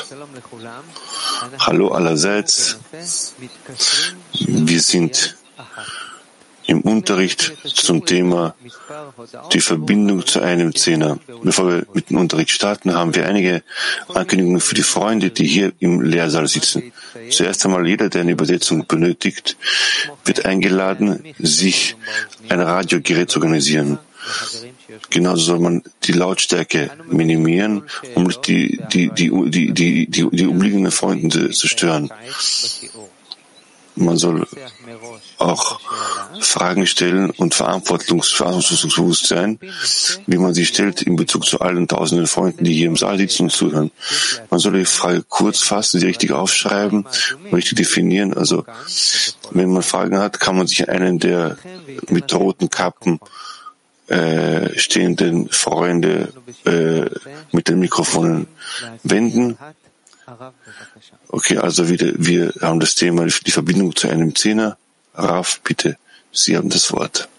Hallo allerseits. Wir sind im Unterricht zum Thema die Verbindung zu einem Zehner. Bevor wir mit dem Unterricht starten, haben wir einige Ankündigungen für die Freunde, die hier im Lehrsaal sitzen. Zuerst einmal, jeder, der eine Übersetzung benötigt, wird eingeladen, sich ein Radiogerät zu organisieren. Genauso soll man die Lautstärke minimieren, um nicht die umliegenden Freunde zu stören. Man soll auch Fragen stellen und verantwortungsbewusst sein, wie man sie stellt in Bezug zu allen tausenden Freunden, die hier im Saal sitzen und zuhören. Man soll die Frage kurz fassen, sie richtig aufschreiben, richtig definieren. Also, wenn man Fragen hat, kann man sich einen der mit roten Kappen stehenden Freunde mit den Mikrofonen wenden. Okay, also wir haben das Thema, die Verbindung zu einem Zehner. Rav, bitte, Sie haben das Wort.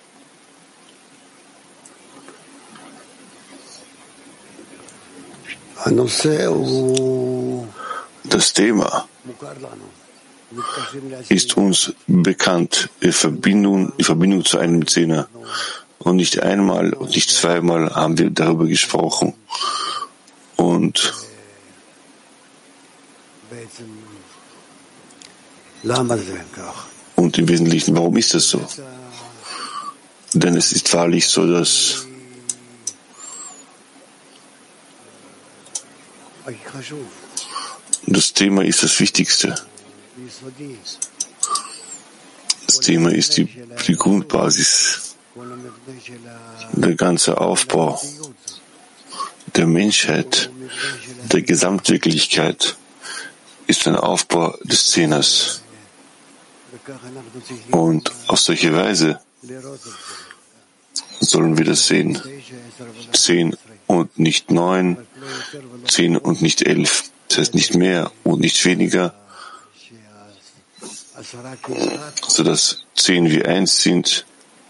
Das Thema ist uns bekannt, die Verbindung zu einem Zehner. Und nicht einmal und nicht zweimal haben wir darüber gesprochen. Und im Wesentlichen, warum ist das so? Denn es ist wahrlich so, dass das Thema ist das Wichtigste. Das Thema ist die Grundbasis. Der ganze Aufbau der Menschheit, der Gesamtwirklichkeit ist ein Aufbau des Zehners. Und auf solche Weise sollen wir das sehen. 10 und nicht 9, 10 und nicht 11. Das heißt nicht mehr und nicht weniger, sodass 10 wie 1 sind.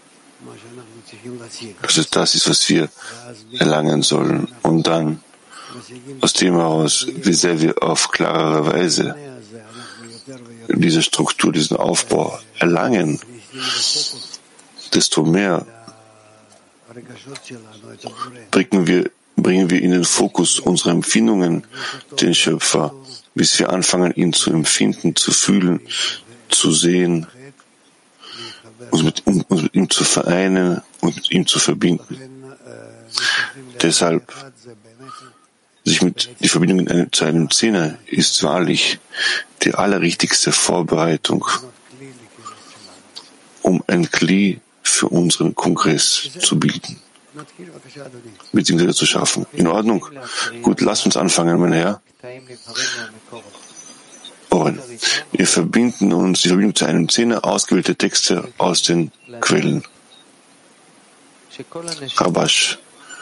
Also das ist, was wir erlangen sollen. Und dann, aus dem heraus, wie sehr wir auf klarere Weise diese Struktur, diesen Aufbau erlangen, desto mehr bringen wir in den Fokus unserer Empfindungen den Schöpfer, bis wir anfangen, ihn zu empfinden, zu fühlen, zu sehen, uns mit ihm zu vereinen und mit ihm zu verbinden. Deshalb, die Verbindung zu einem Zehner ist wahrlich die allerrichtigste Vorbereitung, um ein Kli für unseren Kongress zu bilden, beziehungsweise zu schaffen. In Ordnung? Gut, lasst uns anfangen, mein Herr. Oren, wir verbinden uns die Verbindung zu einem Zehner, ausgewählte Texte aus den Quellen. Rabash.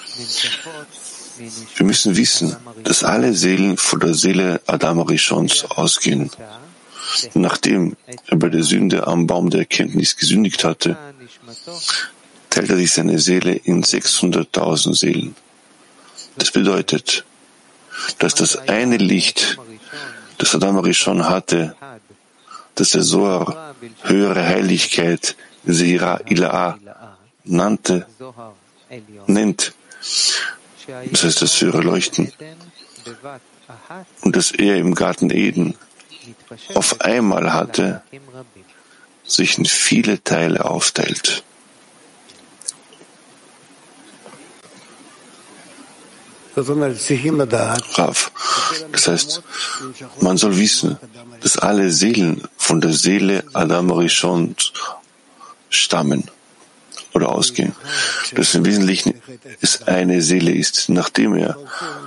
Wir müssen wissen, dass alle Seelen von der Seele Adam Rishons ausgehen. Nachdem er bei der Sünde am Baum der Erkenntnis gesündigt hatte, teilt er sich seine Seele in 600.000 Seelen. Das bedeutet, dass das eine Licht, das Adam Rishon hatte, das der Zohar höhere Heiligkeit, Seira Ila'a, nennt, das heißt das höhere Leuchten, und das er im Garten Eden auf einmal hatte, sich in viele Teile aufteilt. Rav. Das heißt, man soll wissen, dass alle Seelen von der Seele Adam Rishon stammen oder ausgehen. Dass im Wesentlichen es eine Seele ist. Nachdem er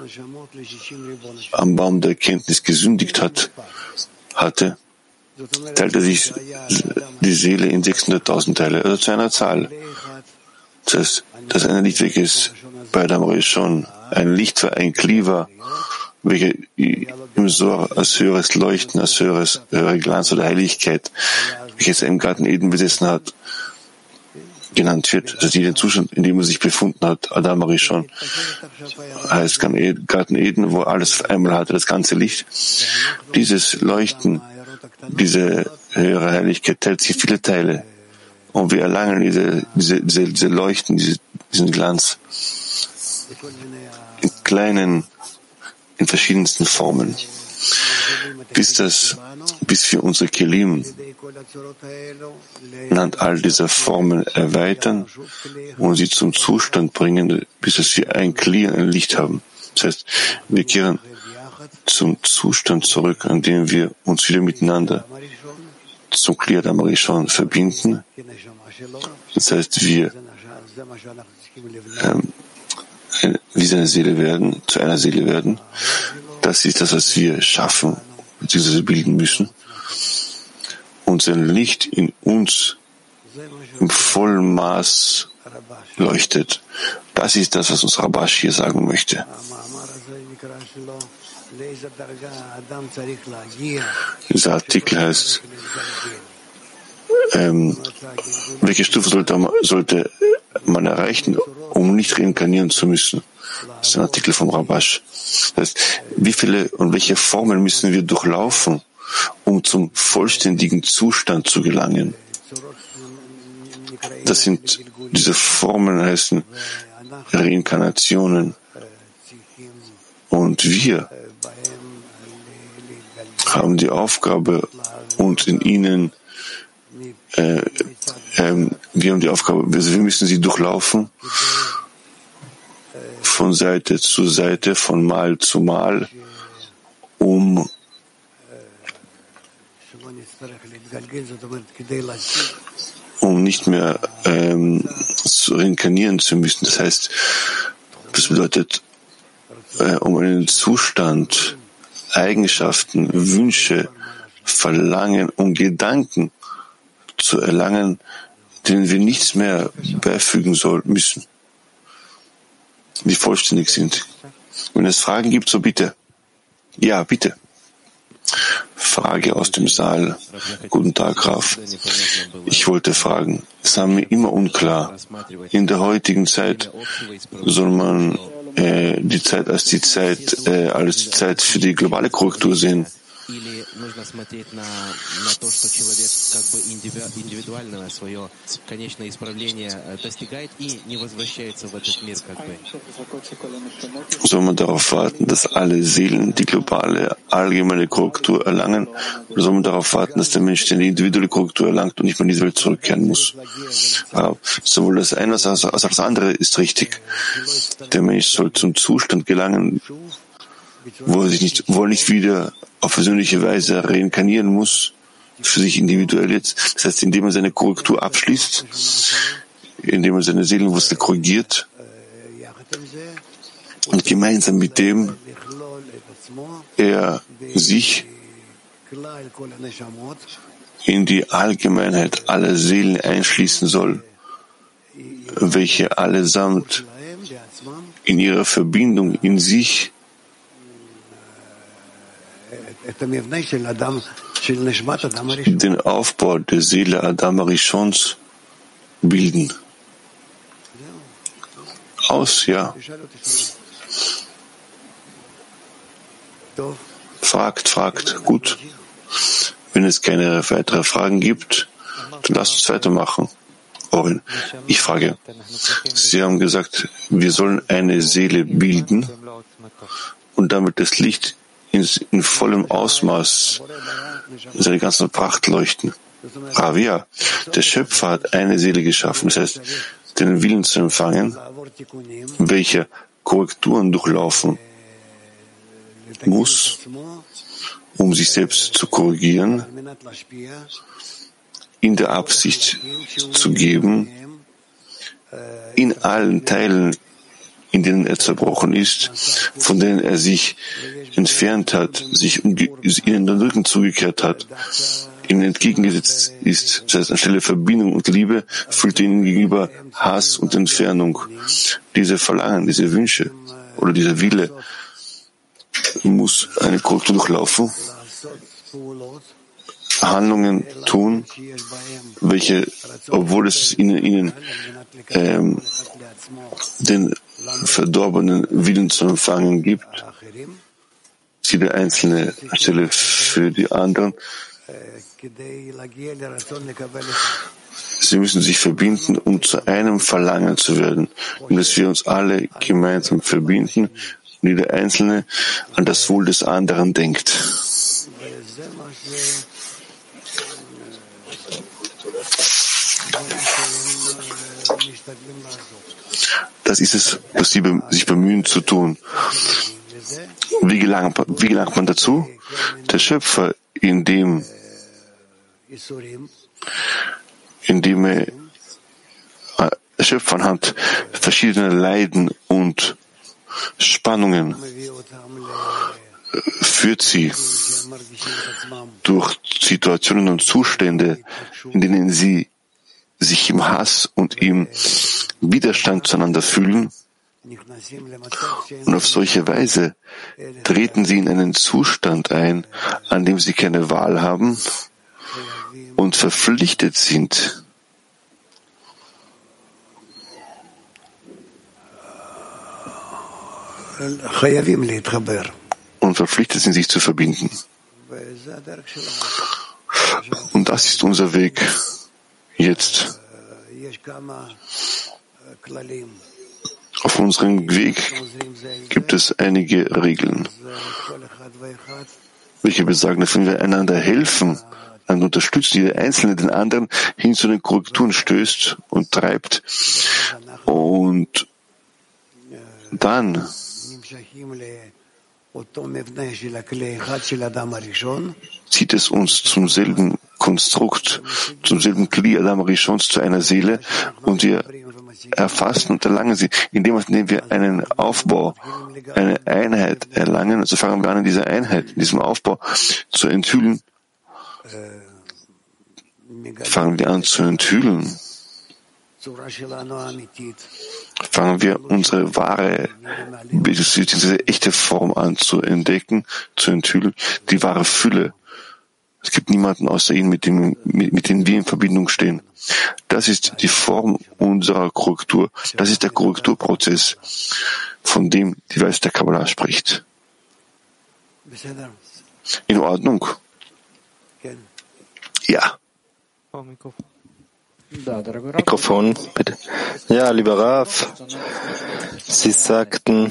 am Baum der Erkenntnis gesündigt hatte, teilt er sich die Seele in 600.000 Teile, also zu einer Zahl. Das heißt, dass eine Licht weg ist bei Adam Rishon, ein Licht war ein Kli war, welcher im Zohar als höheres Leuchten, als höhere Glanz oder Heiligkeit, welches er im Garten Eden besessen hat, genannt wird, das heißt jeden Zustand, in dem er sich befunden hat, Adam Arishon, heißt Garten Eden, wo alles einmal hatte, das ganze Licht. Dieses Leuchten, diese höhere Heiligkeit teilt sich in viele Teile. Und wir erlangen diese Leuchten, diesen Glanz in kleinen, in verschiedensten Formen. Bis wir unsere Kelim anhand all dieser Formen erweitern und sie zum Zustand bringen, bis dass wir ein Licht haben. Das heißt, wir kehren zum Zustand zurück, an dem wir uns wieder miteinander zum Kli Adam Arishon verbinden. Das heißt, wir wie seine Seele werden, zu einer Seele werden. Das ist das, was wir schaffen, beziehungsweise bilden müssen. Und sein Licht in uns im vollen Maß leuchtet. Das ist das, was uns Rabash hier sagen möchte. Dieser Artikel heißt, welche Stufe sollte man erreichen, um nicht reinkarnieren zu müssen? Das ist ein Artikel vom Rabash. Das heißt, wie viele und welche Formen müssen wir durchlaufen, um zum vollständigen Zustand zu gelangen? Das sind, diese Formen heißen Reinkarnationen. Und wir haben die Aufgabe, und in ihnen wir haben die Aufgabe, also wir müssen sie durchlaufen, von Seite zu Seite, von Mal zu Mal, um nicht mehr reinkarnieren zu müssen. Das heißt, das bedeutet, um einen Zustand, Eigenschaften, Wünsche, Verlangen und Gedanken zu erlangen, denen wir nichts mehr beifügen müssen, die vollständig sind. Wenn es Fragen gibt, so bitte. Ja, bitte. Frage aus dem Saal. Guten Tag, Raf. Ich wollte fragen, es war mir immer unklar, in der heutigen Zeit soll man die Zeit als die Zeit für die globale Korrektur sehen. Soll man darauf warten, dass alle Seelen die globale, allgemeine Korrektur erlangen? Oder soll man darauf warten, dass der Mensch die individuelle Korrektur erlangt und nicht mehr in diese Welt zurückkehren muss? Sowohl das eine als auch das andere ist richtig. Der Mensch soll zum Zustand gelangen, wo er nicht wieder auf persönliche Weise reinkarnieren muss, für sich individuell jetzt. Das heißt, indem er seine Korrektur abschließt, indem er seine Seelenwurzel korrigiert und gemeinsam mit dem er sich in die Allgemeinheit aller Seelen einschließen soll, welche allesamt in ihrer Verbindung in sich den Aufbau der Seele Adam Arishons bilden. Ja. Fragt. Gut. Wenn es keine weiteren Fragen gibt, dann lasst uns weitermachen. Orin, ich frage. Sie haben gesagt, wir sollen eine Seele bilden und damit das Licht in vollem Ausmaß in seiner ganzen Pracht leuchten. Ravia, der Schöpfer hat eine Seele geschaffen, das heißt, den Willen zu empfangen, welcher Korrekturen durchlaufen muss, um sich selbst zu korrigieren, in der Absicht zu geben, in allen Teilen, in denen er zerbrochen ist, von denen er sich entfernt hat, sich ihnen den Rücken zugekehrt hat, ihnen entgegengesetzt ist. Das heißt, anstelle Verbindung und Liebe fühlt ihnen gegenüber Hass und Entfernung. Diese Verlangen, diese Wünsche oder dieser Wille muss eine Korrektur durchlaufen, Handlungen tun, welche, obwohl es ihnen den verdorbenen Willen zu empfangen gibt, jede einzelne Stelle für die anderen. Sie müssen sich verbinden, um zu einem Verlangen zu werden, und dass wir uns alle gemeinsam verbinden und jeder Einzelne an das Wohl des anderen denkt. Das ist es, was sie sich bemühen zu tun. Wie gelangt man dazu? Der Schöpfer, indem er Schöpfer anhand verschiedener Leiden und Spannungen führt sie durch Situationen und Zustände, in denen sie sich im Hass und im Widerstand zueinander fühlen. Und auf solche Weise treten sie in einen Zustand ein, an dem sie keine Wahl haben und verpflichtet sind, sich zu verbinden. Und das ist unser Weg jetzt. Auf unserem Weg gibt es einige Regeln, welche besagen, dass wenn wir einander helfen, einander unterstützen, jeder Einzelne den anderen hin zu den Korrekturen stößt und treibt, und dann zieht es uns zum selben Konstrukt, zum selben Kli Adam Rishons, zu einer Seele, und wir erfassen und erlangen sie, indem wir einen Aufbau, eine Einheit erlangen. Also fangen wir an, in dieser Einheit, in diesem Aufbau zu enthüllen. Fangen wir an zu enthüllen. Fangen wir unsere wahre, bzw. echte Form an zu entdecken, zu enthüllen, die wahre Fülle. Es gibt niemanden außer ihm, mit dem wir in Verbindung stehen. Das ist die Form unserer Korrektur. Das ist der Korrekturprozess, von dem die Weisheit der Kabbalah spricht. In Ordnung? Ja. Mikrofon, bitte. Ja, lieber Rav, Sie sagten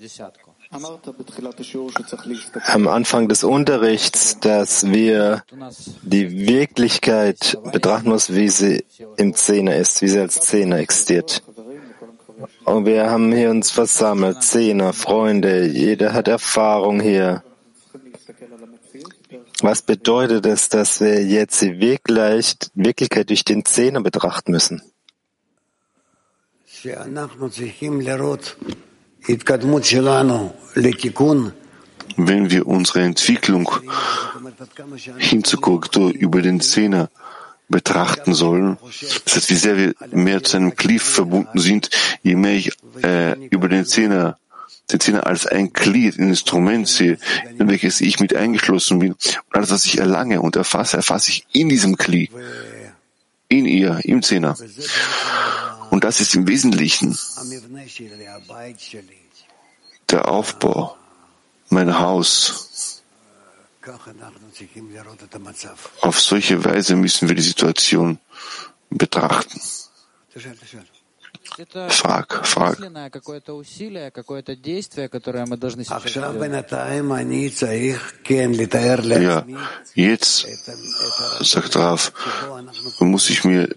am Anfang des Unterrichts, dass wir die Wirklichkeit betrachten müssen, wie sie im Zehner ist, wie sie als Zehner existiert. Und wir haben hier uns versammelt, Zehner, Freunde, jeder hat Erfahrung hier. Was bedeutet es, dass wir jetzt die Wirklichkeit durch den Zehner betrachten müssen? Wenn wir unsere Entwicklung hin zur Korrektur über den Zehner betrachten sollen, das heißt, wie sehr wir mehr zu einem Kli verbunden sind, je mehr ich über den Zehner als ein Glied, ein Instrument sehe, in welches ich mit eingeschlossen bin. Und alles, was ich erlange und erfasse ich in diesem Glied, in ihr, im Zehner. Und das ist im Wesentlichen der Aufbau, mein Haus. Auf solche Weise müssen wir die Situation betrachten. Frag. Ja, jetzt, sagt Rav, muss ich mir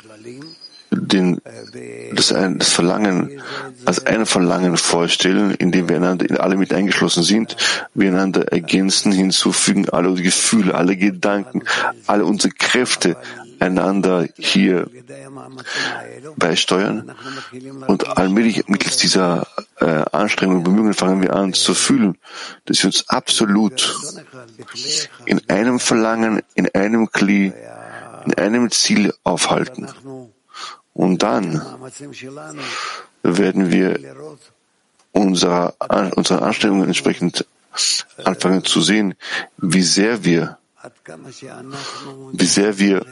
das Verlangen als ein Verlangen vorstellen, in dem wir einander alle mit eingeschlossen sind, wir einander ergänzen, hinzufügen, alle Gefühle, alle Gedanken, alle unsere Kräfte einander hier beisteuern, und allmählich mittels dieser Anstrengungen und Bemühungen fangen wir an zu fühlen, dass wir uns absolut in einem Verlangen, in einem Kli, in einem Ziel aufhalten. Und dann werden wir unseren Anstrengungen entsprechend anfangen zu sehen, wie sehr wir wie sehr wir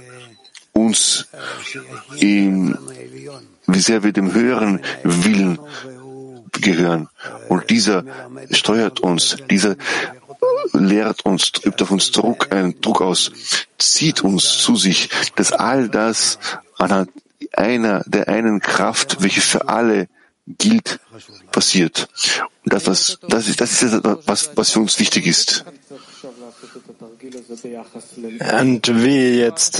dem höheren Willen gehören. Und dieser steuert uns, dieser lehrt uns, übt auf uns einen Druck aus, zieht uns zu sich, dass all das anhand der einen Kraft, welche für alle gilt, passiert. Und das ist was für uns wichtig ist. Und wie jetzt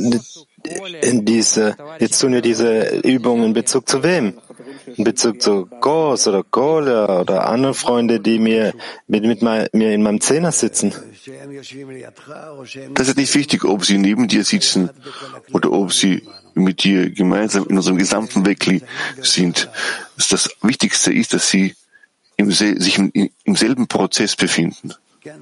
tun wir diese Übung in Bezug zu wem? In Bezug zu Gos oder Kohle oder andere Freunde, die mir in meinem Zehner sitzen? Das ist nicht wichtig, ob sie neben dir sitzen oder ob sie mit dir gemeinsam in unserem gesamten Wegli sind. Das Wichtigste ist, dass sie sich im selben Prozess befinden.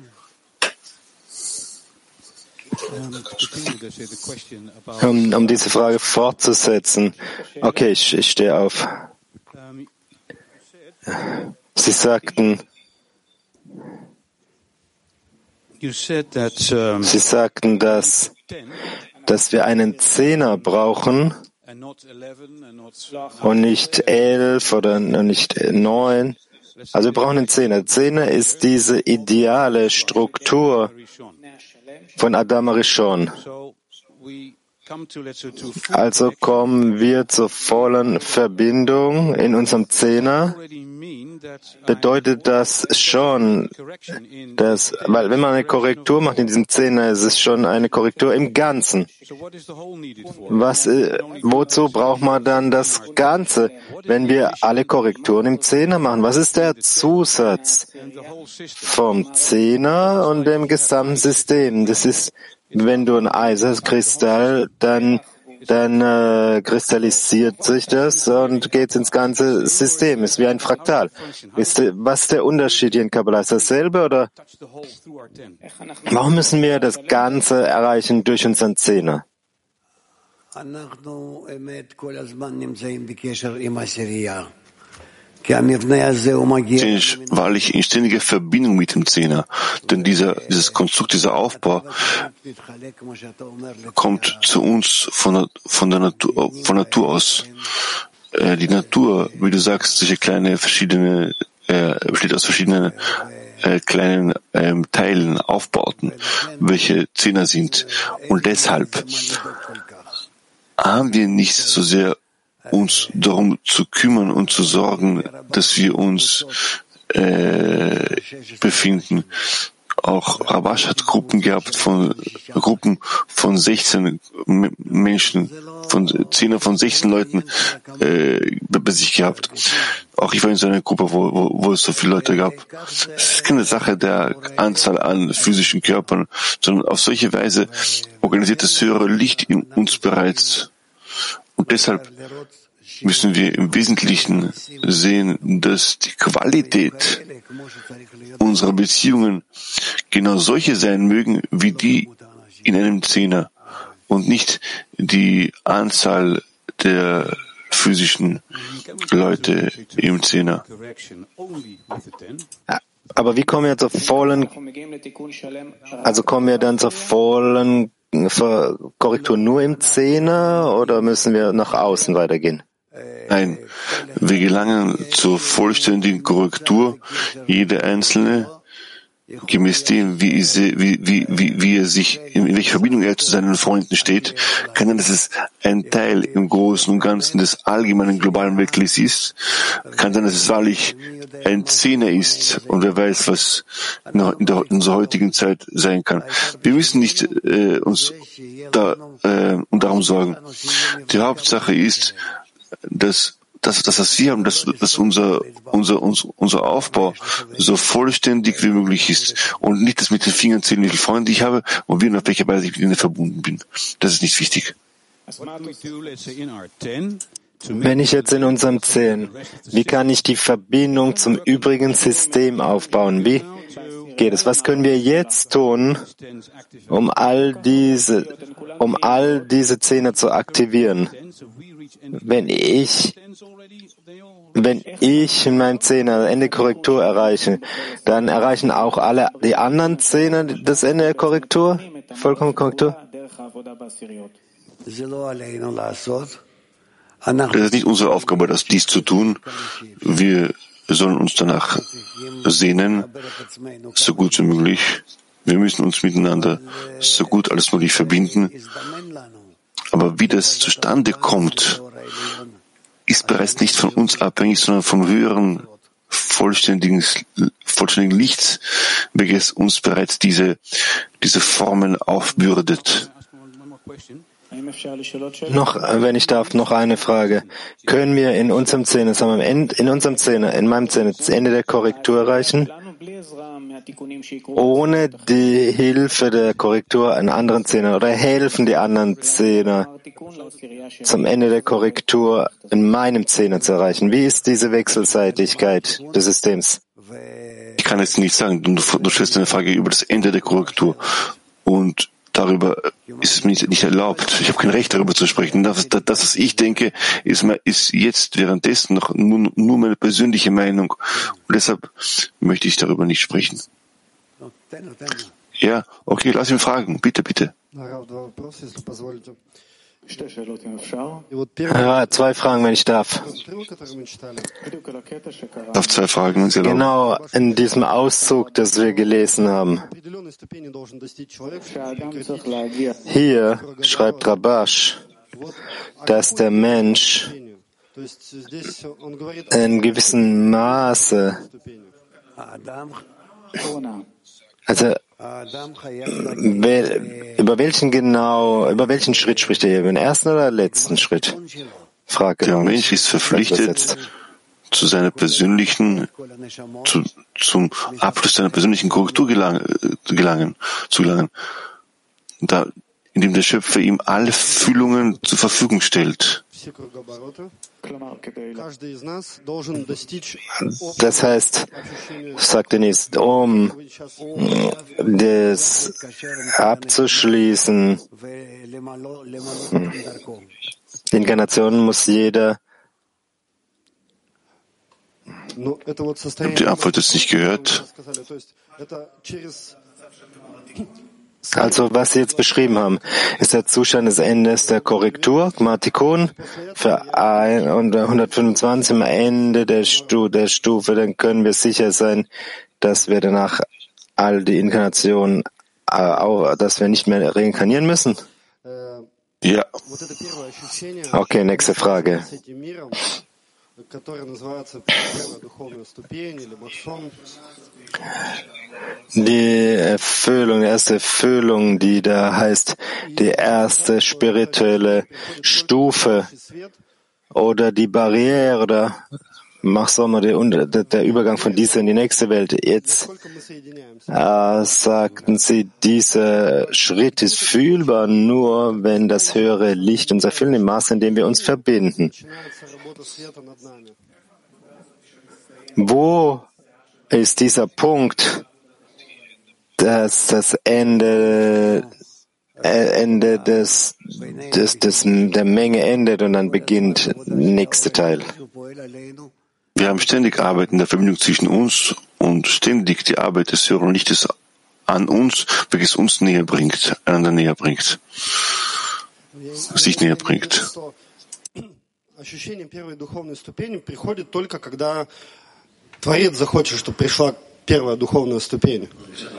Um diese Frage fortzusetzen. Okay, ich stehe auf. Sie sagten, dass wir einen Zehner brauchen und nicht 11 oder nicht 9. Also wir brauchen einen Zehner. Zehner ist diese ideale Struktur von Adam Rishon. Also kommen wir zur vollen Verbindung in unserem Zehner. Bedeutet das schon, weil wenn man eine Korrektur macht in diesem Zehner, ist es schon eine Korrektur im Ganzen. Wozu braucht man dann das Ganze, wenn wir alle Korrekturen im Zehner machen? Was ist der Zusatz vom Zehner und dem gesamten System? Das ist, wenn du ein Eis hast, Kristall, dann kristallisiert sich das und geht ins ganze System. Ist wie ein Fraktal. Was ist der Unterschied hier in Kabbalah? Ist dasselbe oder? Warum müssen wir das Ganze erreichen durch unseren Zehner? Wahrlich in ständiger Verbindung mit dem Zehner. Denn dieses Konstrukt, dieser Aufbau kommt zu uns von der Natur aus. Die Natur, wie du sagst, besteht aus verschiedenen kleinen Teilen, Aufbauten, welche Zehner sind. Und deshalb haben wir nicht so sehr uns darum zu kümmern und zu sorgen, dass wir uns befinden. Auch Rabash hat Gruppen von 16 Menschen, von 10 von 16 Leuten bei sich gehabt. Auch ich war in so einer Gruppe, wo es so viele Leute gab. Es ist keine Sache der Anzahl an physischen Körpern, sondern auf solche Weise organisiert das höhere Licht in uns bereits. Und deshalb müssen wir im Wesentlichen sehen, dass die Qualität unserer Beziehungen genau solche sein mögen, wie die in einem Zehner und nicht die Anzahl der physischen Leute im Zehner. Aber wie kommen wir zur vollen, kommen wir dann zur vollen Korrektur nur im Zehner oder müssen wir nach außen weitergehen? Nein, wir gelangen zur vollständigen Korrektur, jeder Einzelne, gemäß dem, wie er sich, in welcher Verbindung er zu seinen Freunden steht, kann sein, dass es ein Teil im Großen und Ganzen des allgemeinen globalen Weltlis ist, kann sein, dass es wahrlich ein Zehner ist und wer weiß, was in unserer heutigen Zeit sein kann. Wir müssen nicht uns darum sorgen. Die Hauptsache ist, dass wir haben, dass unser Aufbau so vollständig wie möglich ist und nicht, dass mit den Fingern zählen, wie viele Freunde ich habe und wie und auf welche Weise ich mit ihnen verbunden bin. Das ist nicht wichtig. Wenn ich jetzt in unserem 10, wie kann ich die Verbindung zum übrigen System aufbauen? Wie geht es? Was können wir jetzt tun, um all diese Zehner zu aktivieren? Wenn ich in meinem Zehner Ende Korrektur erreiche, dann erreichen auch alle die anderen Zehner das Ende der Korrektur? Vollkommen Korrektur. Das ist nicht unsere Aufgabe, dies zu tun. Wir sollen uns danach sehnen, so gut wie möglich. Wir müssen uns miteinander so gut als möglich verbinden. Aber wie das zustande kommt, ist bereits nicht von uns abhängig, sondern vom höheren, vollständigen Licht, welches uns bereits diese Formen aufbürdet. Noch, wenn ich darf, noch eine Frage. Können wir in unserem Zehner, in meinem Zehner, das Ende der Korrektur erreichen, ohne die Hilfe der Korrektur an anderen Zehner, oder helfen die anderen Zehner zum Ende der Korrektur in meinem Zehner zu erreichen? Wie ist diese Wechselseitigkeit des Systems? Ich kann jetzt nicht sagen, du stellst eine Frage über das Ende der Korrektur und darüber ist es mir nicht erlaubt. Ich habe kein Recht, darüber zu sprechen. Das, was ich denke, ist jetzt währenddessen noch nur meine persönliche Meinung. Und deshalb möchte ich darüber nicht sprechen. Ja, okay, lass ihn fragen. Bitte, bitte. Ja, 2 Fragen, wenn ich darf. Auf 2 Fragen, wenn Sie erlauben. Genau, in diesem Auszug, das wir gelesen haben. Hier schreibt Rabash, dass der Mensch in gewissem Maße, also über welchen Schritt spricht er hier? Über den ersten oder letzten Schritt? Frage. Der Mensch ist verpflichtet, zu seiner persönlichen, zum Abschluss seiner persönlichen Korrektur zu gelangen, indem der Schöpfer ihm alle Fühlungen zur Verfügung stellt. Das heißt, sagt Denis, um das abzuschließen, die Inkarnation muss jeder. Ich habe die Antwort jetzt nicht gehört. Also, was Sie jetzt beschrieben haben, ist der Zustand des Endes der Korrektur, Gmatikon, für 125 am Ende der Stufe, dann können wir sicher sein, dass wir danach all die Inkarnationen, dass wir nicht mehr reinkarnieren müssen? Ja. Okay, nächste Frage. Die Erfüllung, die erste Erfüllung, die da heißt, die erste spirituelle Stufe oder die Barriere oder der Übergang von dieser in die nächste Welt. Jetzt sagten Sie, dieser Schritt ist fühlbar nur, wenn das höhere Licht uns erfüllt, im Maße, in dem wir uns verbinden. Wo ist dieser Punkt, dass das Ende der Menge endet und dann beginnt der nächste Teil? Wir haben ständig Arbeit in der Verbindung zwischen uns und ständig die Arbeit des höheren Lichtes an uns, welches uns näher bringt, einander näher bringt, sich näher bringt. Ощущение первой духовной ступени приходит только когда Творец захочет, чтобы пришла первая духовная ступень.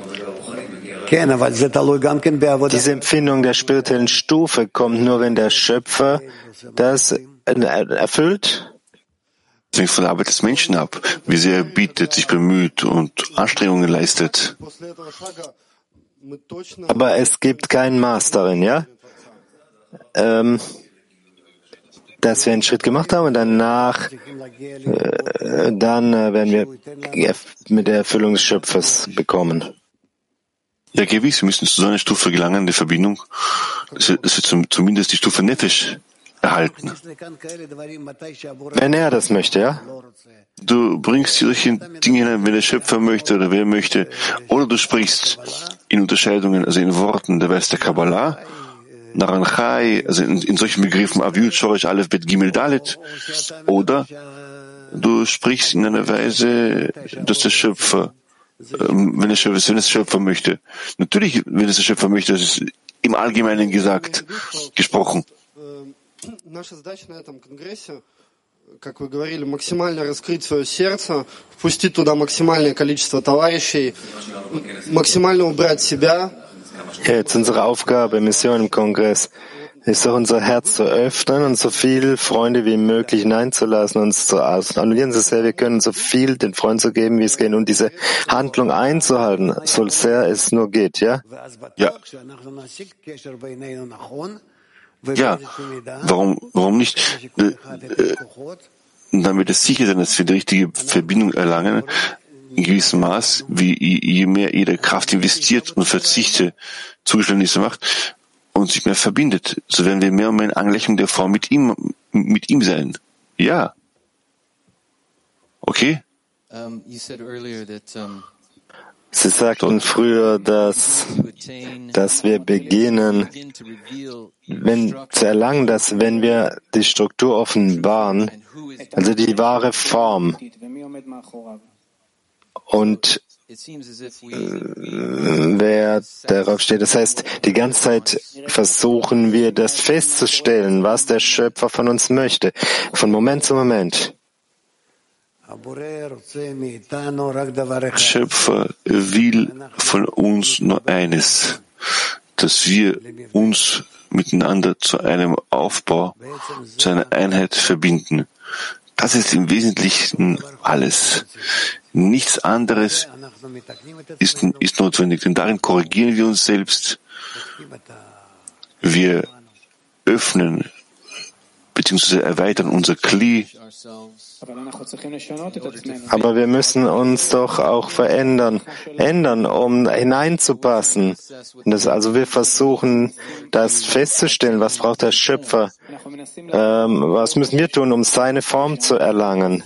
Diese Empfindung der spirituellen Stufe kommt nur, wenn der Schöpfer das erfüllt. Das hängt von der Arbeit des Menschen ab, wie sehr er bietet, sich bemüht und Anstrengungen leistet. Aber es gibt kein Maß darin, ja? Dass wir einen Schritt gemacht haben und danach dann werden wir mit der Erfüllung des Schöpfers bekommen. Ja, gewiss, wir müssen zu so einer Stufe gelangen, der Verbindung, dass wir zumindest die Stufe Nefesh erhalten. Wenn er das möchte, ja? Du bringst solche Dinge hinein, wenn der Schöpfer möchte oder wer möchte, oder du sprichst in Unterscheidungen, also in Worten der Weis der Kabbalah, Naranchai, also in solchen Begriffen Avyut, Shorish, Aleph, Bet, Gimel, Dalet, oder du sprichst in einer Weise, dass der Schöpfer wenn es Schöpfer möchte. Natürlich, wenn es der Schöpfer möchte, das ist im Allgemeinen gesprochen. Наша задача на этом конгрессе, как вы говорили, максимально раскрыть свое сердце, впустить туда максимальное количество товарищей, максимально убрать себя. Jetzt unsere Aufgabe, Mission im Kongress, ist doch unser Herz zu öffnen und so viele Freunde wie möglich hineinzulassen, uns zu annullieren, so sehr wir können, so viel den Freunden zu geben, wie es geht, und diese Handlung einzuhalten, so sehr es nur geht, ja? Ja. Ja, warum nicht? Damit es sicher sein, dass wir die richtige Verbindung erlangen, in gewissem Maß, wie je mehr jeder Kraft investiert und Verzichte Zugeständnisse macht und sich mehr verbindet, so werden wir mehr und mehr in Angleichung der Form mit ihm sein. Ja. Okay? Sie sagten früher, dass wir beginnen, zu erlangen, dass wenn wir die Struktur offenbaren, also die wahre Form, und wer darauf steht, das heißt, die ganze Zeit versuchen wir, das festzustellen, was der Schöpfer von uns möchte, von Moment zu Moment. Schöpfer will von uns nur eines, dass wir uns miteinander zu einem Aufbau, zu einer Einheit verbinden. Das ist im Wesentlichen alles. Nichts anderes ist notwendig, denn darin korrigieren wir uns selbst. Wir öffnen bzw. erweitern unser Kli. Aber wir müssen uns doch auch ändern, um hineinzupassen. Also wir versuchen, das festzustellen, was braucht der Schöpfer, was müssen wir tun, um seine Form zu erlangen,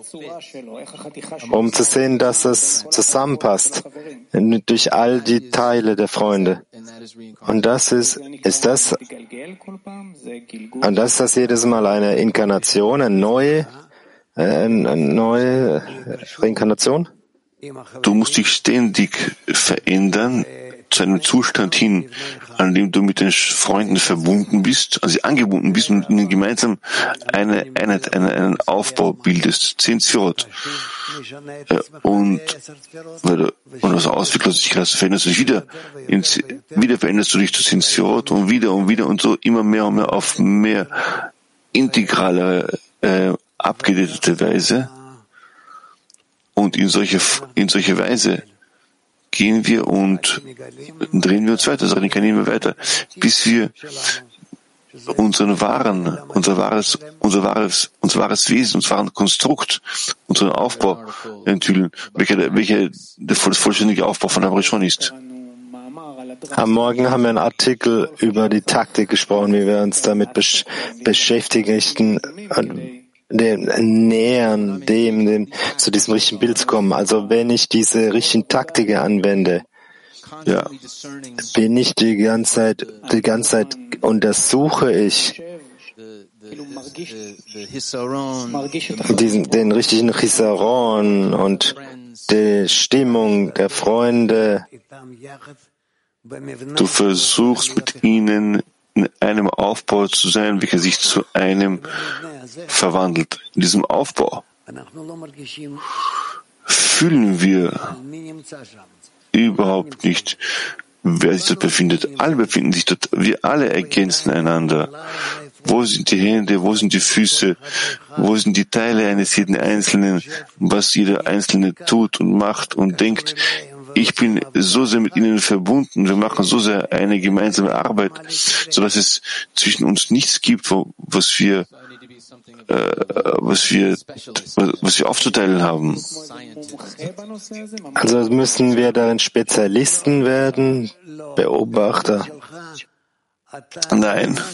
um zu sehen, dass es zusammenpasst, durch all die Teile der Freunde. Und das ist das jedes Mal eine Inkarnation, eine neue Reinkarnation? Du musst dich ständig verändern zu einem Zustand hin, an dem du mit den Freunden verbunden bist, also angebunden bist und ihnen gemeinsam einen Aufbau bildest, 10 Sphirot. Und aus Ausweglosigkeit veränderst du dich wieder veränderst du dich zu 10 Sphirot und wieder und so immer mehr und mehr auf mehr integrale abgedeckte Weise, und in solche Weise gehen wir und drehen wir uns weiter, reinkarnieren wir weiter, bis wir unser wahres Wesen, unser wahres Konstrukt, unseren Aufbau enthüllen, welcher der vollständige Aufbau von Abrishon ist. Am Morgen haben wir einen Artikel über die Taktik gesprochen, wie wir uns damit beschäftigen, nähern zu diesem richtigen Bild zu kommen. Also wenn ich diese richtigen Taktiken anwende, ja, bin ich die ganze Zeit untersuche ich den richtigen Chisaron und die Stimmung der Freunde. Du versuchst mit ihnen in einem Aufbau zu sein, welcher sich zu einem verwandelt. In diesem Aufbau fühlen wir überhaupt nicht, wer sich dort befindet. Alle befinden sich dort. Wir alle ergänzen einander. Wo sind die Hände? Wo sind die Füße? Wo sind die Teile eines jeden Einzelnen? Was jeder Einzelne tut und macht und denkt. Ich bin so sehr mit ihnen verbunden. Wir machen so sehr eine gemeinsame Arbeit, so dass es zwischen uns nichts gibt, was wir aufzuteilen haben. Also müssen wir darin Spezialisten werden, Beobachter? Nein.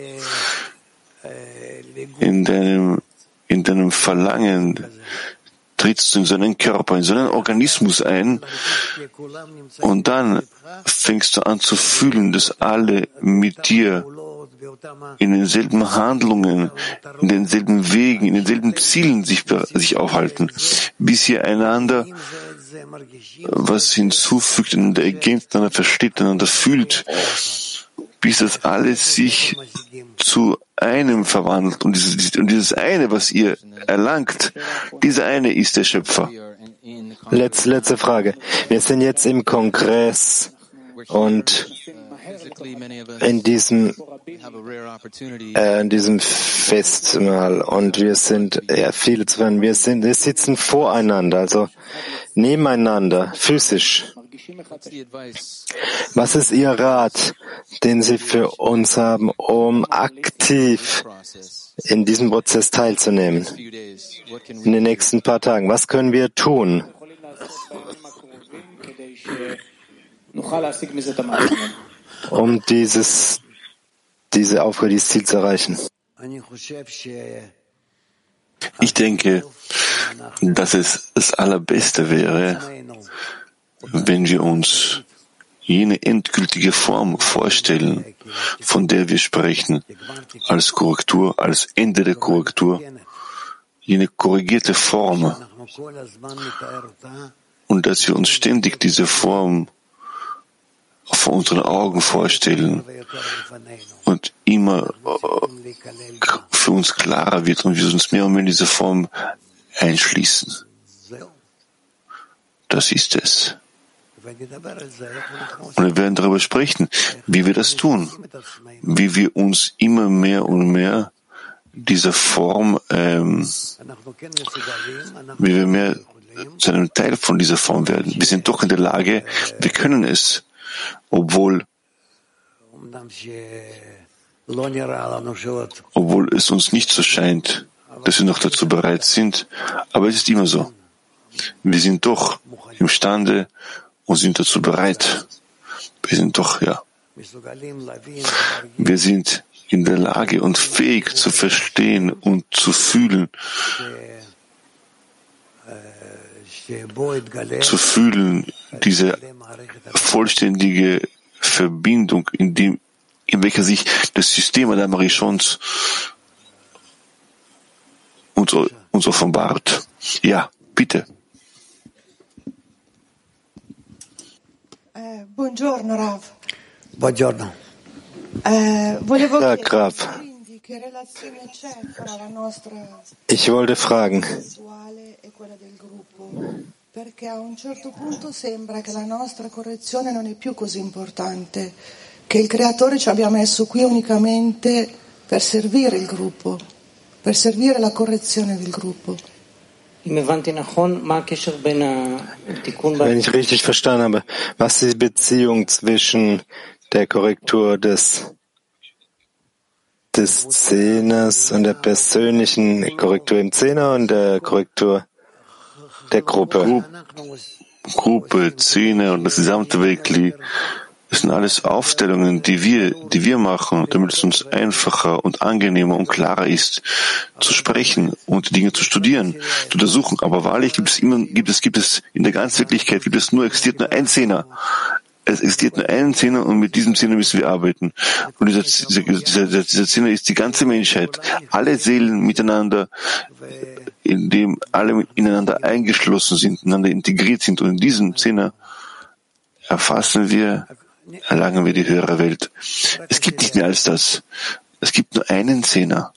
In deinem Verlangen trittst du in so einen Körper, in so einen Organismus ein, und dann fängst du an zu fühlen, dass alle mit dir in denselben Handlungen, in denselben Wegen, in denselben Zielen sich aufhalten, bis ihr einander was hinzufügt, einander ergänzt, einander versteht, einander fühlt, bis das alles sich zu einem verwandelt. Und dieses eine, was ihr erlangt, dieser eine ist der Schöpfer. Letzte Frage. Wir sind jetzt im Kongress und in diesem Festmahl und wir sind, viele zu hören, wir sitzen voreinander, also nebeneinander, physisch. Was ist Ihr Rat, den Sie für uns haben, um aktiv in diesem Prozess teilzunehmen? In den nächsten paar Tagen. Was können wir tun? Um diese Aufgabe, dieses Ziel zu erreichen. Ich denke, dass es das Allerbeste wäre, wenn wir uns jene endgültige Form vorstellen, von der wir sprechen, als Korrektur, als Ende der Korrektur, jene korrigierte Form, und dass wir uns ständig diese Form vor unseren Augen vorstellen und immer für uns klarer wird und wir uns mehr und mehr in diese Form einschließen. Das ist es. Und wir werden darüber sprechen, wie wir das tun, wie wir uns immer mehr und mehr dieser Form, wie wir mehr zu einem Teil von dieser Form werden. Wir sind doch in der Lage, wir können es, obwohl es uns nicht so scheint, dass wir noch dazu bereit sind, aber es ist immer so. Wir sind doch imstande und sind dazu bereit. Wir sind doch, wir sind in der Lage und fähig zu verstehen und zu fühlen, diese vollständige Verbindung, in welcher sich das System Adam Rishons uns offenbart. Ja, bitte. Buongiorno, Rav. Buongiorno. Tag, Rav. Ich wollte fragen, perché a un certo punto sembra che la nostra correzione non è più così importante, che il Creatore ci abbia messo qui unicamente per servire il gruppo, per servire la correzione del gruppo. Wenn ich richtig verstanden habe, was ist die Beziehung zwischen der Korrektur des Zehners und der persönlichen Korrektur im Zehner und der Korrektur der Gruppe? Gruppe, Zehner und das gesamte Wekli, das sind alles Aufstellungen, die wir machen, damit es uns einfacher und angenehmer und klarer ist, zu sprechen und die Dinge zu studieren, zu untersuchen. Aber wahrlich gibt es in der ganzen Wirklichkeit existiert nur ein Zehner. Es existiert nur einen Zehner und mit diesem Zehner müssen wir arbeiten. Und dieser Zehner ist die ganze Menschheit. Alle Seelen miteinander, in dem alle ineinander eingeschlossen sind, ineinander integriert sind. Und in diesem Zehner erlangen wir die höhere Welt. Es gibt nicht mehr als das. Es gibt nur einen Zehner.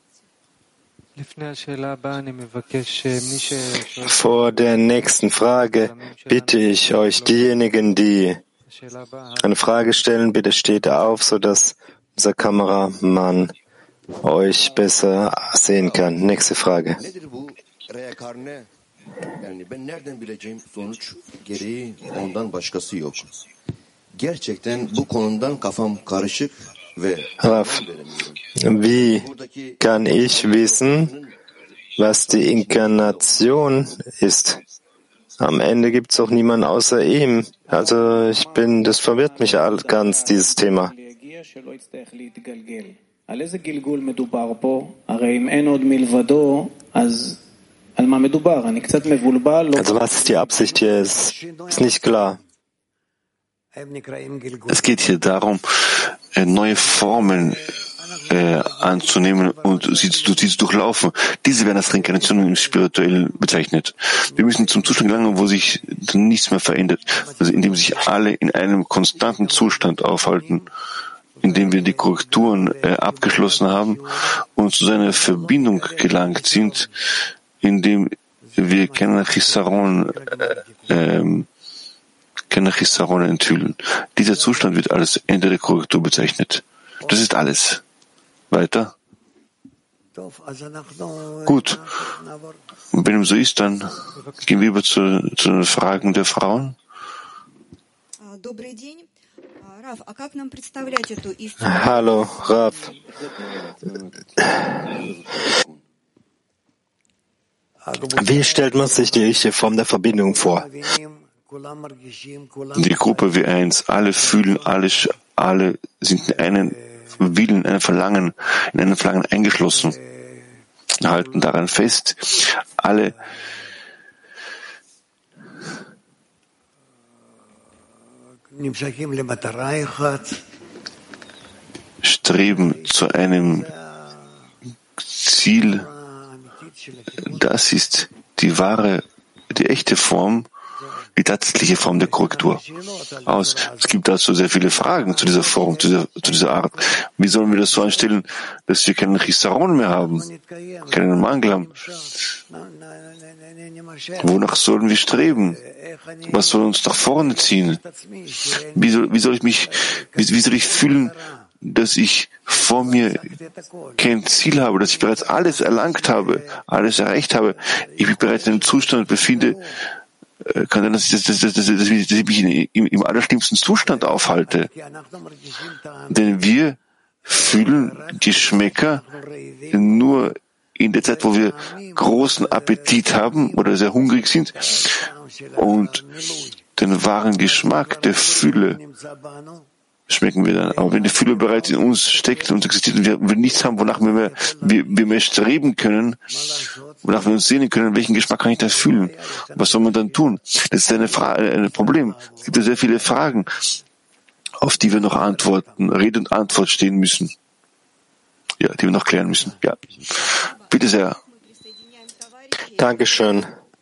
Vor der nächsten Frage bitte ich euch, diejenigen, die eine Frage stellen, bitte steht auf, sodass unser Kameramann euch besser sehen kann. Nächste Frage. Rav, wie kann ich wissen, was die Inkarnation ist? Am Ende gibt es auch niemanden außer ihm. Also das verwirrt mich ganz, dieses Thema. Also was ist die Absicht hier? Ist nicht klar. Es geht hier darum, neue Formen anzunehmen und sie zu durchlaufen. Diese werden als Reinkarnation im Spirituellen bezeichnet. Wir müssen zum Zustand gelangen, wo sich nichts mehr verändert, also indem sich alle in einem konstanten Zustand aufhalten, indem wir die Korrekturen abgeschlossen haben und zu seiner Verbindung gelangt sind, indem wir keine Chisaron enthüllen. Dieser Zustand wird als Ende der Korrektur bezeichnet. Das ist alles. Weiter. Gut. Und wenn es so ist, dann gehen wir über zu den Fragen der Frauen. Hallo, Rav. Wie stellt man sich die richtige Form der Verbindung vor? Die Gruppe W1, alle fühlen, alle sind in einen Willen, in einem Verlangen eingeschlossen, halten daran fest. Alle streben zu einem Ziel. Das ist die echte Form, die tatsächliche Form der Korrektur. Es gibt dazu sehr viele Fragen zu dieser Form, zu dieser Art. Wie sollen wir das so anstellen, dass wir keinen Chisaron mehr haben, keinen Mangel haben? Wonach sollen wir streben? Was soll uns nach vorne ziehen? Wie soll ich fühlen, dass ich vor mir kein Ziel habe, dass ich bereits alles erlangt habe, alles erreicht habe? Ich mich bereits in einem Zustand befinde, kann sein, dass ich mich im allerschlimmsten Zustand aufhalte. Denn wir fühlen Geschmäcker nur in der Zeit, wo wir großen Appetit haben oder sehr hungrig sind und den wahren Geschmack der Fülle schmecken wir dann. Aber wenn die Fülle bereits in uns steckt und existiert und wir nichts haben, wonach wir mehr streben können, wonach wir uns sehnen können, welchen Geschmack kann ich da fühlen? Was soll man dann tun? Das ist ein Problem. Es gibt ja sehr viele Fragen, auf die wir noch Rede und Antwort stehen müssen. Ja, die wir noch klären müssen. Ja. Bitte sehr. Dankeschön.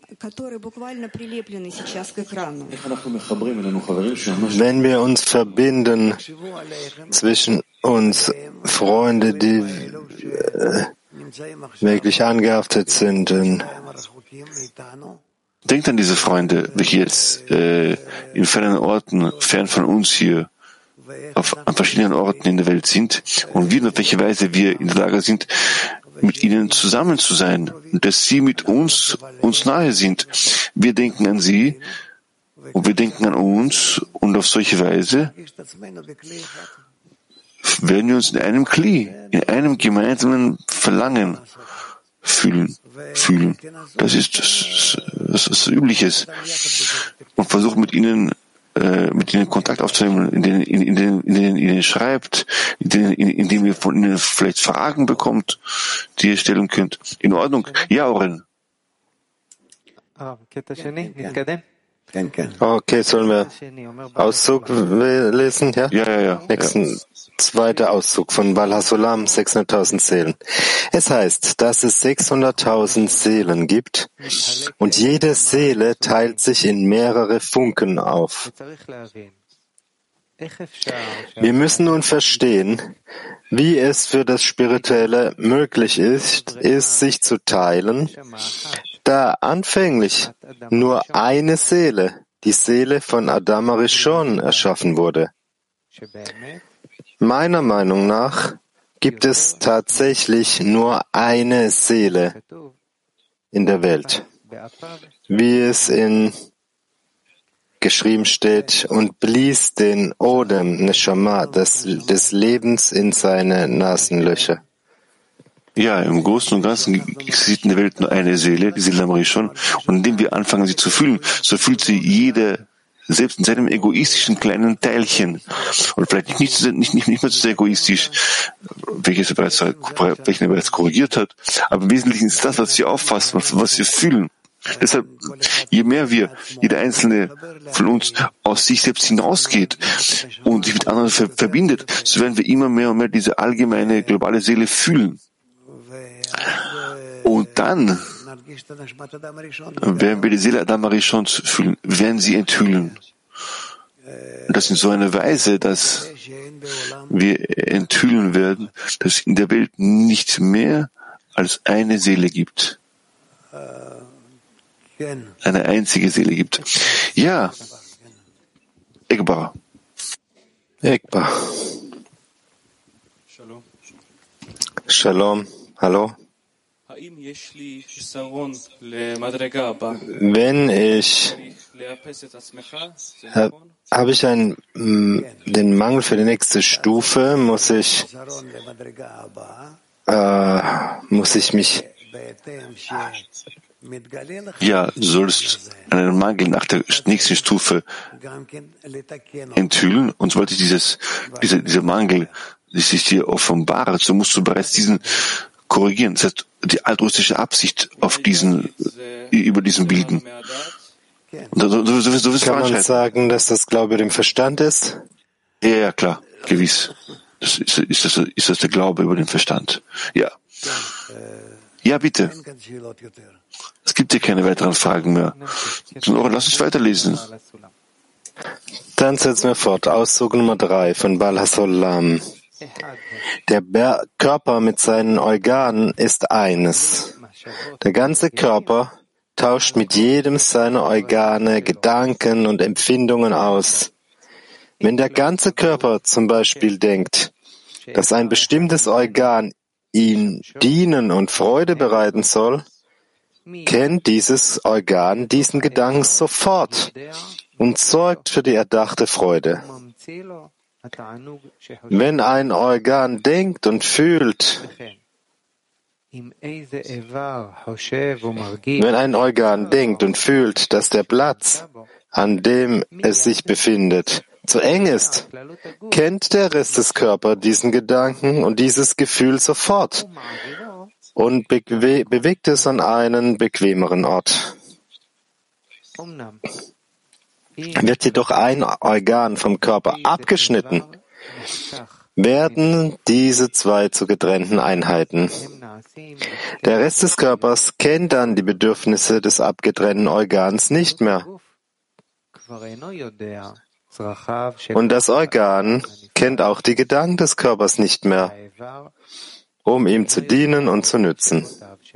Wenn wir uns verbinden zwischen uns, Freunde, die wirklich angehaftet sind, denkt an diese Freunde, welche jetzt in fernen Orten, fern von uns hier, an verschiedenen Orten in der Welt sind und wie und auf welche Weise wir in der Lage sind, mit ihnen zusammen zu sein und dass sie mit uns nahe sind. Wir denken an sie und wir denken an uns und auf solche Weise werden wir uns in einem Kli, in einem gemeinsamen Verlangen fühlen. Das ist das Übliches. Und versuchen mit ihnen Kontakt aufzunehmen, in denen ihnen schreibt, in dem ihr von ihnen vielleicht Fragen bekommt, die ihr stellen könnt. In Ordnung? Ja, Oren. Okay, sollen wir Auszug lesen? Ja? Ja. Zweiter Auszug von Baal HaSulam, 600.000 Seelen. Es heißt, dass es 600.000 Seelen gibt und jede Seele teilt sich in mehrere Funken auf. Wir müssen nun verstehen, wie es für das Spirituelle möglich ist, sich zu teilen, da anfänglich nur eine Seele, die Seele von Adam Arishon, erschaffen wurde. Meiner Meinung nach gibt es tatsächlich nur eine Seele in der Welt, wie es geschrieben steht, und blies den Odem, Neshama, des Lebens in seine Nasenlöcher. Ja, im Großen und Ganzen existiert in der Welt nur eine Seele, die Seele Arishon, und indem wir anfangen, sie zu fühlen, so fühlt sie jeder selbst in seinem egoistischen kleinen Teilchen, und vielleicht nicht mehr so sehr egoistisch, welches er bereits korrigiert hat, aber im Wesentlichen ist das, was sie auffasst, was sie fühlen. Deshalb, je mehr jeder Einzelne von uns aus sich selbst hinausgeht und sich mit anderen verbindet, so werden wir immer mehr und mehr diese allgemeine, globale Seele fühlen. Und dann werden wir die Seele Adam Arishons fühlen, werden sie enthüllen. Und das in so einer Weise, dass wir enthüllen werden, dass es in der Welt nicht mehr als eine Seele gibt. Eine einzige Seele gibt. Ja, Egbar. Shalom. Hallo. Wenn ich habe ich den Mangel für die nächste Stufe, muss ich mich sollst einen Mangel nach der nächsten Stufe enthüllen, und sollte dieser Mangel sich dir offenbaren, so musst du bereits diesen korrigieren. Das heißt, die altruistische Absicht über diesen bilden. Kann man sagen, dass das Glaube dem Verstand ist? Ja, klar, gewiss. Ist das der Glaube über den Verstand? Ja. Ja, bitte. Es gibt hier keine weiteren Fragen mehr. Lass uns weiterlesen. Dann setzen wir fort. Auszug Nummer 3 von Baal HaSolam. Der Körper mit seinen Organen ist eines. Der ganze Körper tauscht mit jedem seiner Organe Gedanken und Empfindungen aus. Wenn der ganze Körper zum Beispiel denkt, dass ein bestimmtes Organ ihm dienen und Freude bereiten soll, kennt dieses Organ diesen Gedanken sofort und sorgt für die erdachte Freude. Wenn ein Organ denkt und fühlt, dass der Platz, an dem es sich befindet, zu eng ist, kennt der Rest des Körpers diesen Gedanken und dieses Gefühl sofort und bewegt es an einen bequemeren Ort. Wird jedoch ein Organ vom Körper abgeschnitten, werden diese zwei zu getrennten Einheiten. Der Rest des Körpers kennt dann die Bedürfnisse des abgetrennten Organs nicht mehr. Und das Organ kennt auch die Gedanken des Körpers nicht mehr, um ihm zu dienen und zu nützen.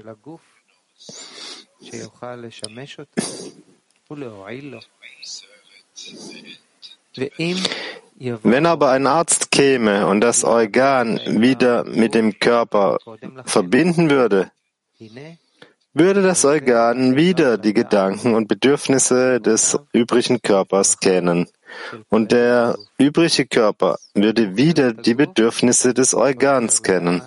Wenn aber ein Arzt käme und das Organ wieder mit dem Körper verbinden würde, würde das Organ wieder die Gedanken und Bedürfnisse des übrigen Körpers kennen. Und der übrige Körper würde wieder die Bedürfnisse des Organs kennen.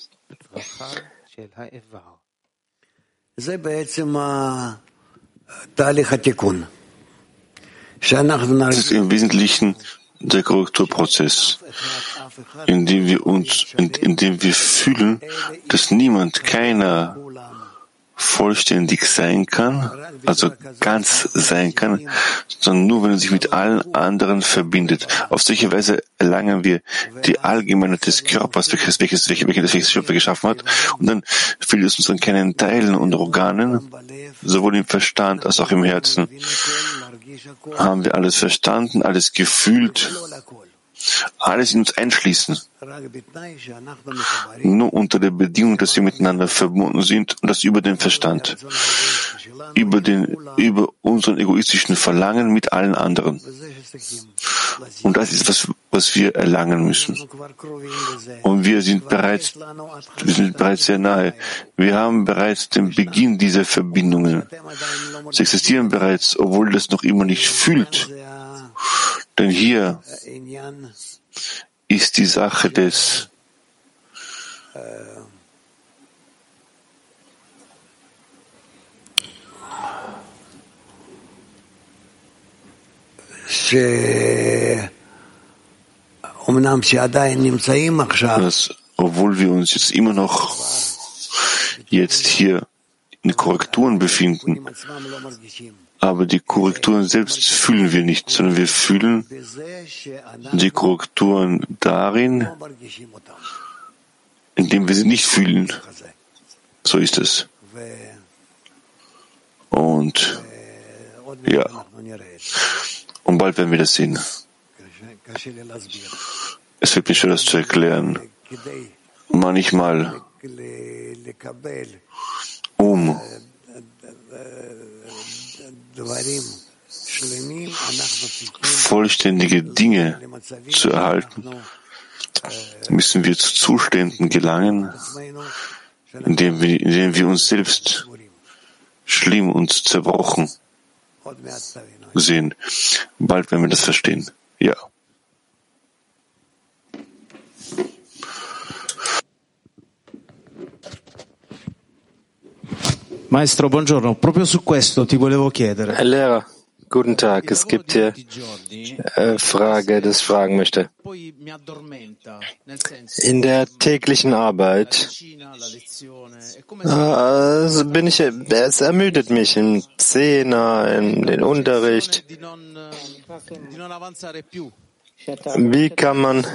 Das ist im Wesentlichen der Korrekturprozess, in dem wir fühlen, dass keiner vollständig sein kann, also ganz sein kann, sondern nur, wenn er sich mit allen anderen verbindet. Auf solche Weise erlangen wir die Allgemeinheit des Körpers, welches der Schöpfer geschaffen hat, und dann fehlt es uns an keinen Teilen und Organen, sowohl im Verstand als auch im Herzen. Haben wir alles verstanden, alles gefühlt, alles in uns einschließen. Nur unter der Bedingung, dass wir miteinander verbunden sind, und das über den Verstand, über unseren egoistischen Verlangen mit allen anderen. Und das ist was wir erlangen müssen. Und wir sind bereits sehr nahe. Wir haben bereits den Beginn dieser Verbindungen. Sie existieren bereits, obwohl das noch immer nicht fühlt. Denn hier ist die Sache des dass, obwohl wir uns jetzt immer noch hier in Korrekturen befinden. Aber die Korrekturen selbst fühlen wir nicht, sondern wir fühlen die Korrekturen darin, indem wir sie nicht fühlen. So ist es. Und ja, und bald werden wir das sehen. Es wird mir schwer, das zu erklären. Manchmal, um vollständige Dinge zu erhalten, müssen wir zu Zuständen gelangen, in denen wir uns selbst schlimm und zerbrochen sehen. Bald werden wir das verstehen. Ja. Maestro, buongiorno. Proprio su questo ti volevo chiedere. Herr Lehrer, guten Tag. Es gibt hier Frage, das ich fragen möchte. In der täglichen Arbeit es ermüdet mich im Zehner, in den Unterricht. Wie kann man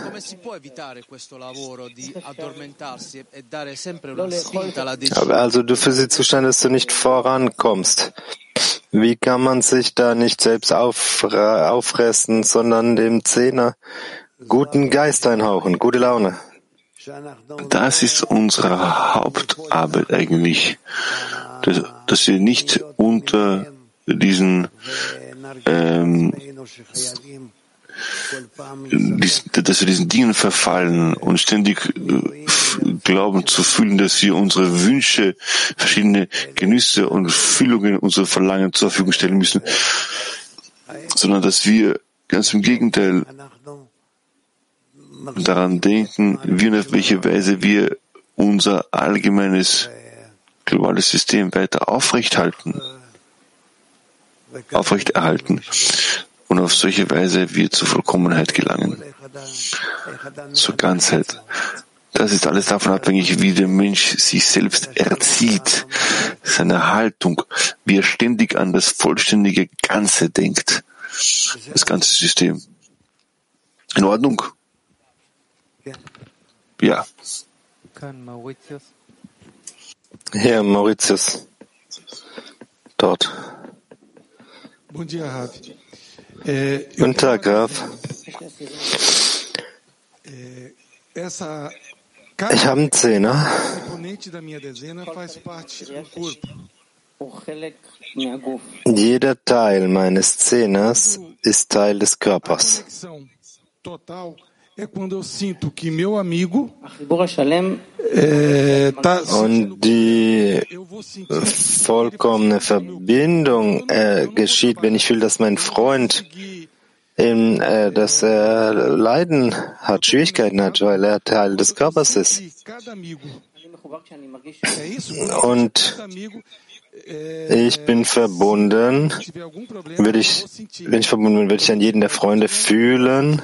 also du für sie zuständig, dass du nicht vorankommst. Wie kann man sich da nicht selbst auffressen, sondern dem Zehner guten Geist einhauchen, gute Laune? Das ist unsere Hauptarbeit eigentlich, dass wir nicht unter diesen dass wir diesen Dingen verfallen und ständig glauben zu fühlen, dass wir unsere Wünsche, verschiedene Genüsse und Fühlungen, unsere Verlangen zur Verfügung stellen müssen, sondern dass wir ganz im Gegenteil daran denken, wie und auf welche Weise wir unser allgemeines globales System weiter aufrechterhalten und auf solche Weise wir zur Vollkommenheit gelangen, zur Ganzheit. Das ist alles davon abhängig, wie der Mensch sich selbst erzieht, seine Haltung, wie er ständig an das vollständige Ganze denkt, das ganze System. In Ordnung? Ja. Herr Mauritius, dort. Guten Tag, Graf. Ich habe einen Zehner. Jeder Teil meines Zehners ist Teil des Körpers. Und die vollkommene Verbindung geschieht, wenn ich fühle, dass mein Freund dass er Leiden hat, Schwierigkeiten hat, weil er Teil des Körpers ist. Und ich bin verbunden, wenn ich verbunden bin, würde ich an jeden der Freunde fühlen,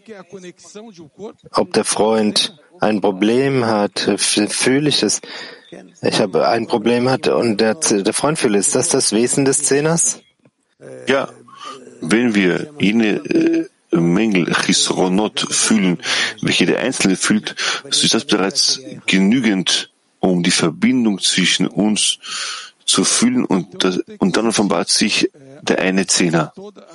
ob der Freund ein Problem hat, fühle ich es. Ich habe ein Problem hat und der Freund fühle. Ist das das Wesen des Zehners? Ja, wenn wir jene Mängel, Chisronot fühlen, welche der Einzelne fühlt, so ist das bereits genügend, um die Verbindung zwischen uns zu fühlen und dann offenbart sich der eine Zehner.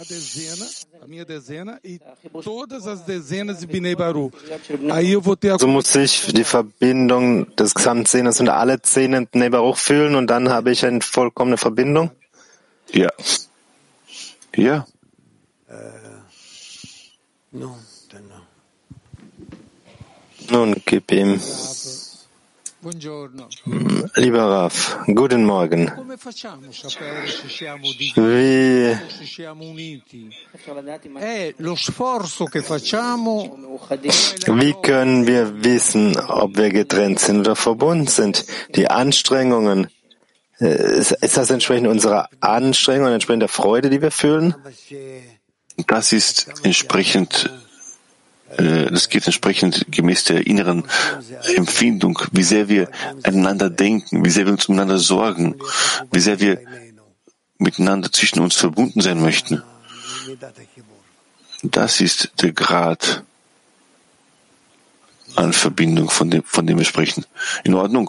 So muss ich die Verbindung des gesamten Zehners und alle Zehner Bnei Baruch fühlen und dann habe ich eine vollkommene Verbindung? Ja. Ja. Nun, gib ihm. Lieber Rav, guten Morgen. Wie können wir wissen, ob wir getrennt sind oder verbunden sind? Die Anstrengungen, ist das entsprechend unserer Anstrengung, entsprechend der Freude, die wir fühlen? Das ist entsprechend das geht entsprechend gemäß der inneren Empfindung, wie sehr wir einander denken, wie sehr wir uns umeinander sorgen, wie sehr wir miteinander zwischen uns verbunden sein möchten. Das ist der Grad an Verbindung, von dem wir sprechen. In Ordnung?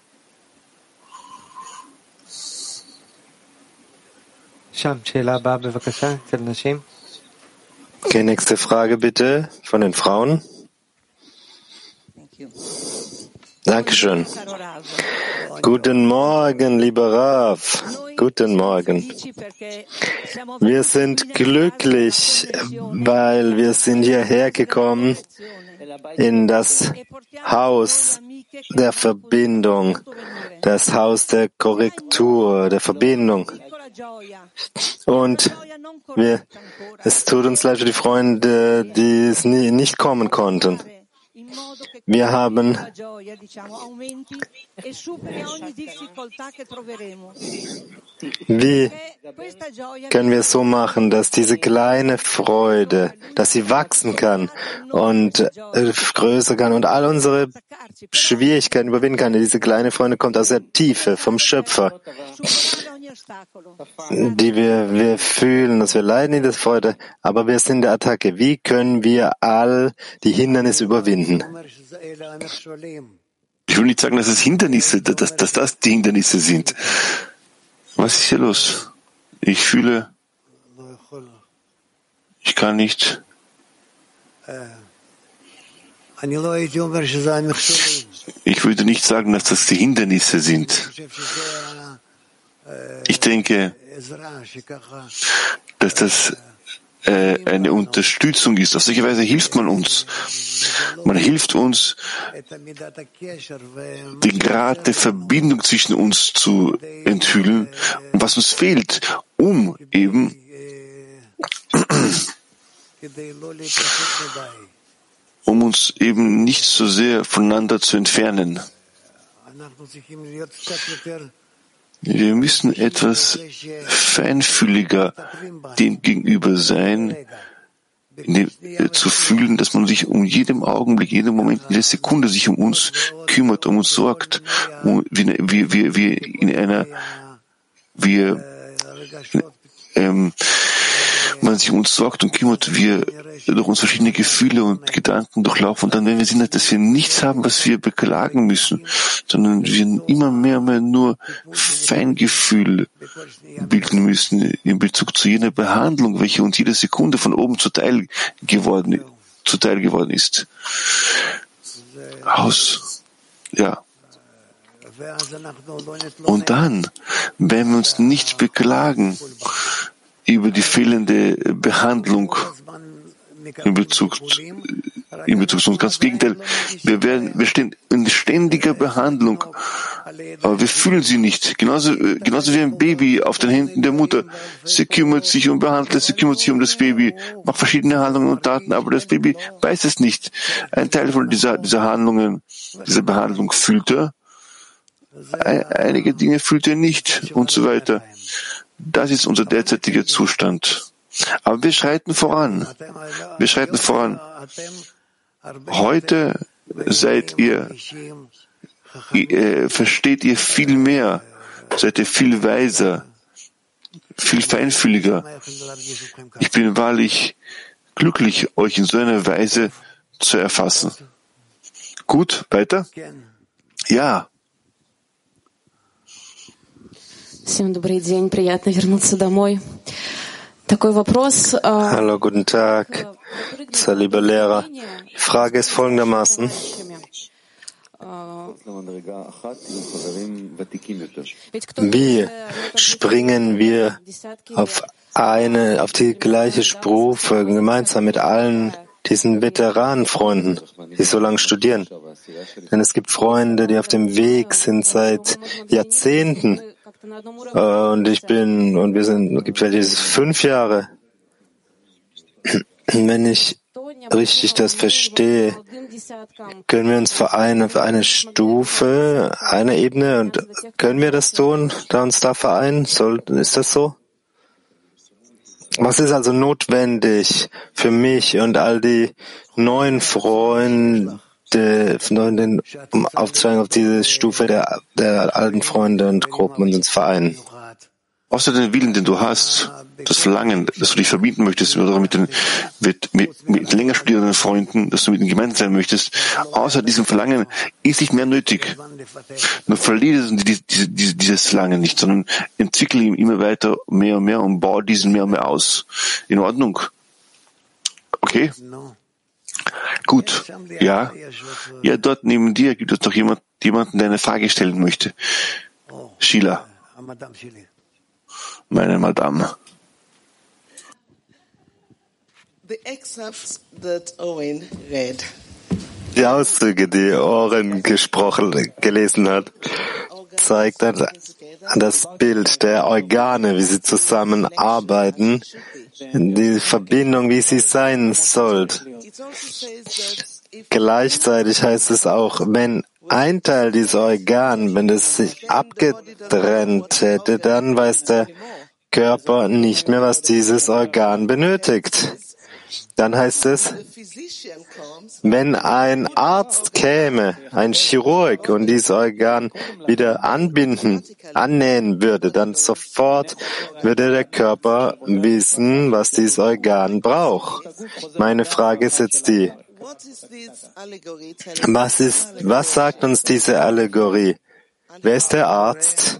Okay, nächste Frage bitte von den Frauen. Dankeschön. Guten Morgen, lieber Rav. Guten Morgen. Wir sind glücklich, weil wir sind hierher gekommen in das Haus der Verbindung, das Haus der Korrektur, der Verbindung. Und es tut uns leid für die Freunde, die es nicht kommen konnten. Wir haben Wie können wir es so machen, dass diese kleine Freude, dass sie wachsen kann und größer kann und all unsere Schwierigkeiten überwinden kann? Diese kleine Freude kommt aus der Tiefe, vom Schöpfer, die wir fühlen, dass wir leiden in der Freude, aber wir sind in der Attacke. Wie können wir all die Hindernisse überwinden? Ich will nicht sagen, dass es Hindernisse, dass das die Hindernisse sind. Was ist hier los? Ich fühle, ich kann nicht. Ich würde nicht sagen, dass das die Hindernisse sind. Ich denke, dass das eine Unterstützung ist. Auf solche Weise hilft man uns. Man hilft uns, den Grad der Verbindung zwischen uns zu enthüllen und was uns fehlt, um eben uns eben nicht so sehr voneinander zu entfernen. Wir müssen etwas feinfühliger dem gegenüber sein, zu fühlen, dass man sich um jeden Augenblick, jeden Moment, jede Sekunde sich um uns kümmert, um uns sorgt, man sich um uns sorgt und kümmert, wir durch uns verschiedene Gefühle und Gedanken durchlaufen. Und dann, wenn wir sehen, dass wir nichts haben, was wir beklagen müssen, sondern wir immer mehr und mehr nur Feingefühl bilden müssen in Bezug zu jener Behandlung, welche uns jede Sekunde von oben zuteil geworden ist. Und dann, wenn wir uns nicht beklagen über die fehlende Behandlung in Bezug zu uns. Ganz im Gegenteil, wir stehen in ständiger Behandlung, aber wir fühlen sie nicht. Genauso wie ein Baby auf den Händen der Mutter. Sie kümmert sich um Behandlung, sie kümmert sich um das Baby, macht verschiedene Handlungen und Taten, aber das Baby weiß es nicht. Ein Teil von dieser Handlungen, dieser Behandlung fühlt er, einige Dinge fühlt er nicht und so weiter. Das ist unser derzeitiger Zustand. Aber wir schreiten voran. Heute versteht ihr viel mehr, seid ihr viel weiser, viel feinfühliger. Ich bin wahrlich glücklich, euch in so einer Weise zu erfassen. Gut, weiter? Ja. Hallo, guten Tag, sehr lieber Lehrer. Die Frage ist folgendermaßen. Wie springen wir auf die gleiche Stufe gemeinsam mit allen diesen Veteranenfreunden, die so lange studieren? Denn es gibt Freunde, die auf dem Weg sind seit Jahrzehnten. Es gibt welche 5 Jahre. Wenn ich richtig das verstehe, können wir uns vereinen auf eine Stufe, eine Ebene, und können wir das tun, uns da vereinen? Ist das so? Was ist also notwendig für mich und all die neuen Freunde, um aufzusteigen auf diese Stufe der alten Freunde und Gruppen und uns vereinen? Außer den Willen, den du hast, das Verlangen, dass du dich verbinden möchtest oder mit länger studierenden Freunden, dass du mit ihnen gemeinsam sein möchtest, außer diesem Verlangen ist nicht mehr nötig. Nur verliere dieses Verlangen nicht, sondern entwickle ihn immer weiter, mehr und mehr und baue diesen mehr und mehr aus. In Ordnung? Okay? Gut. Ja? Ja, dort neben dir gibt es noch jemanden, der eine Frage stellen möchte. Sheila. Meine Madame. Die Auszüge, die Oren gelesen hat, zeigt das Bild der Organe, wie sie zusammenarbeiten, die Verbindung, wie sie sein soll. Gleichzeitig heißt es auch, wenn ein Teil dieses Organ, wenn es sich abgetrennt hätte, dann weiß der Körper nicht mehr, was dieses Organ benötigt. Dann heißt es, wenn ein Arzt käme, ein Chirurg, und dieses Organ wieder annähen würde, dann sofort würde der Körper wissen, was dieses Organ braucht. Meine Frage ist jetzt die, was sagt uns diese Allegorie? Wer ist der Arzt?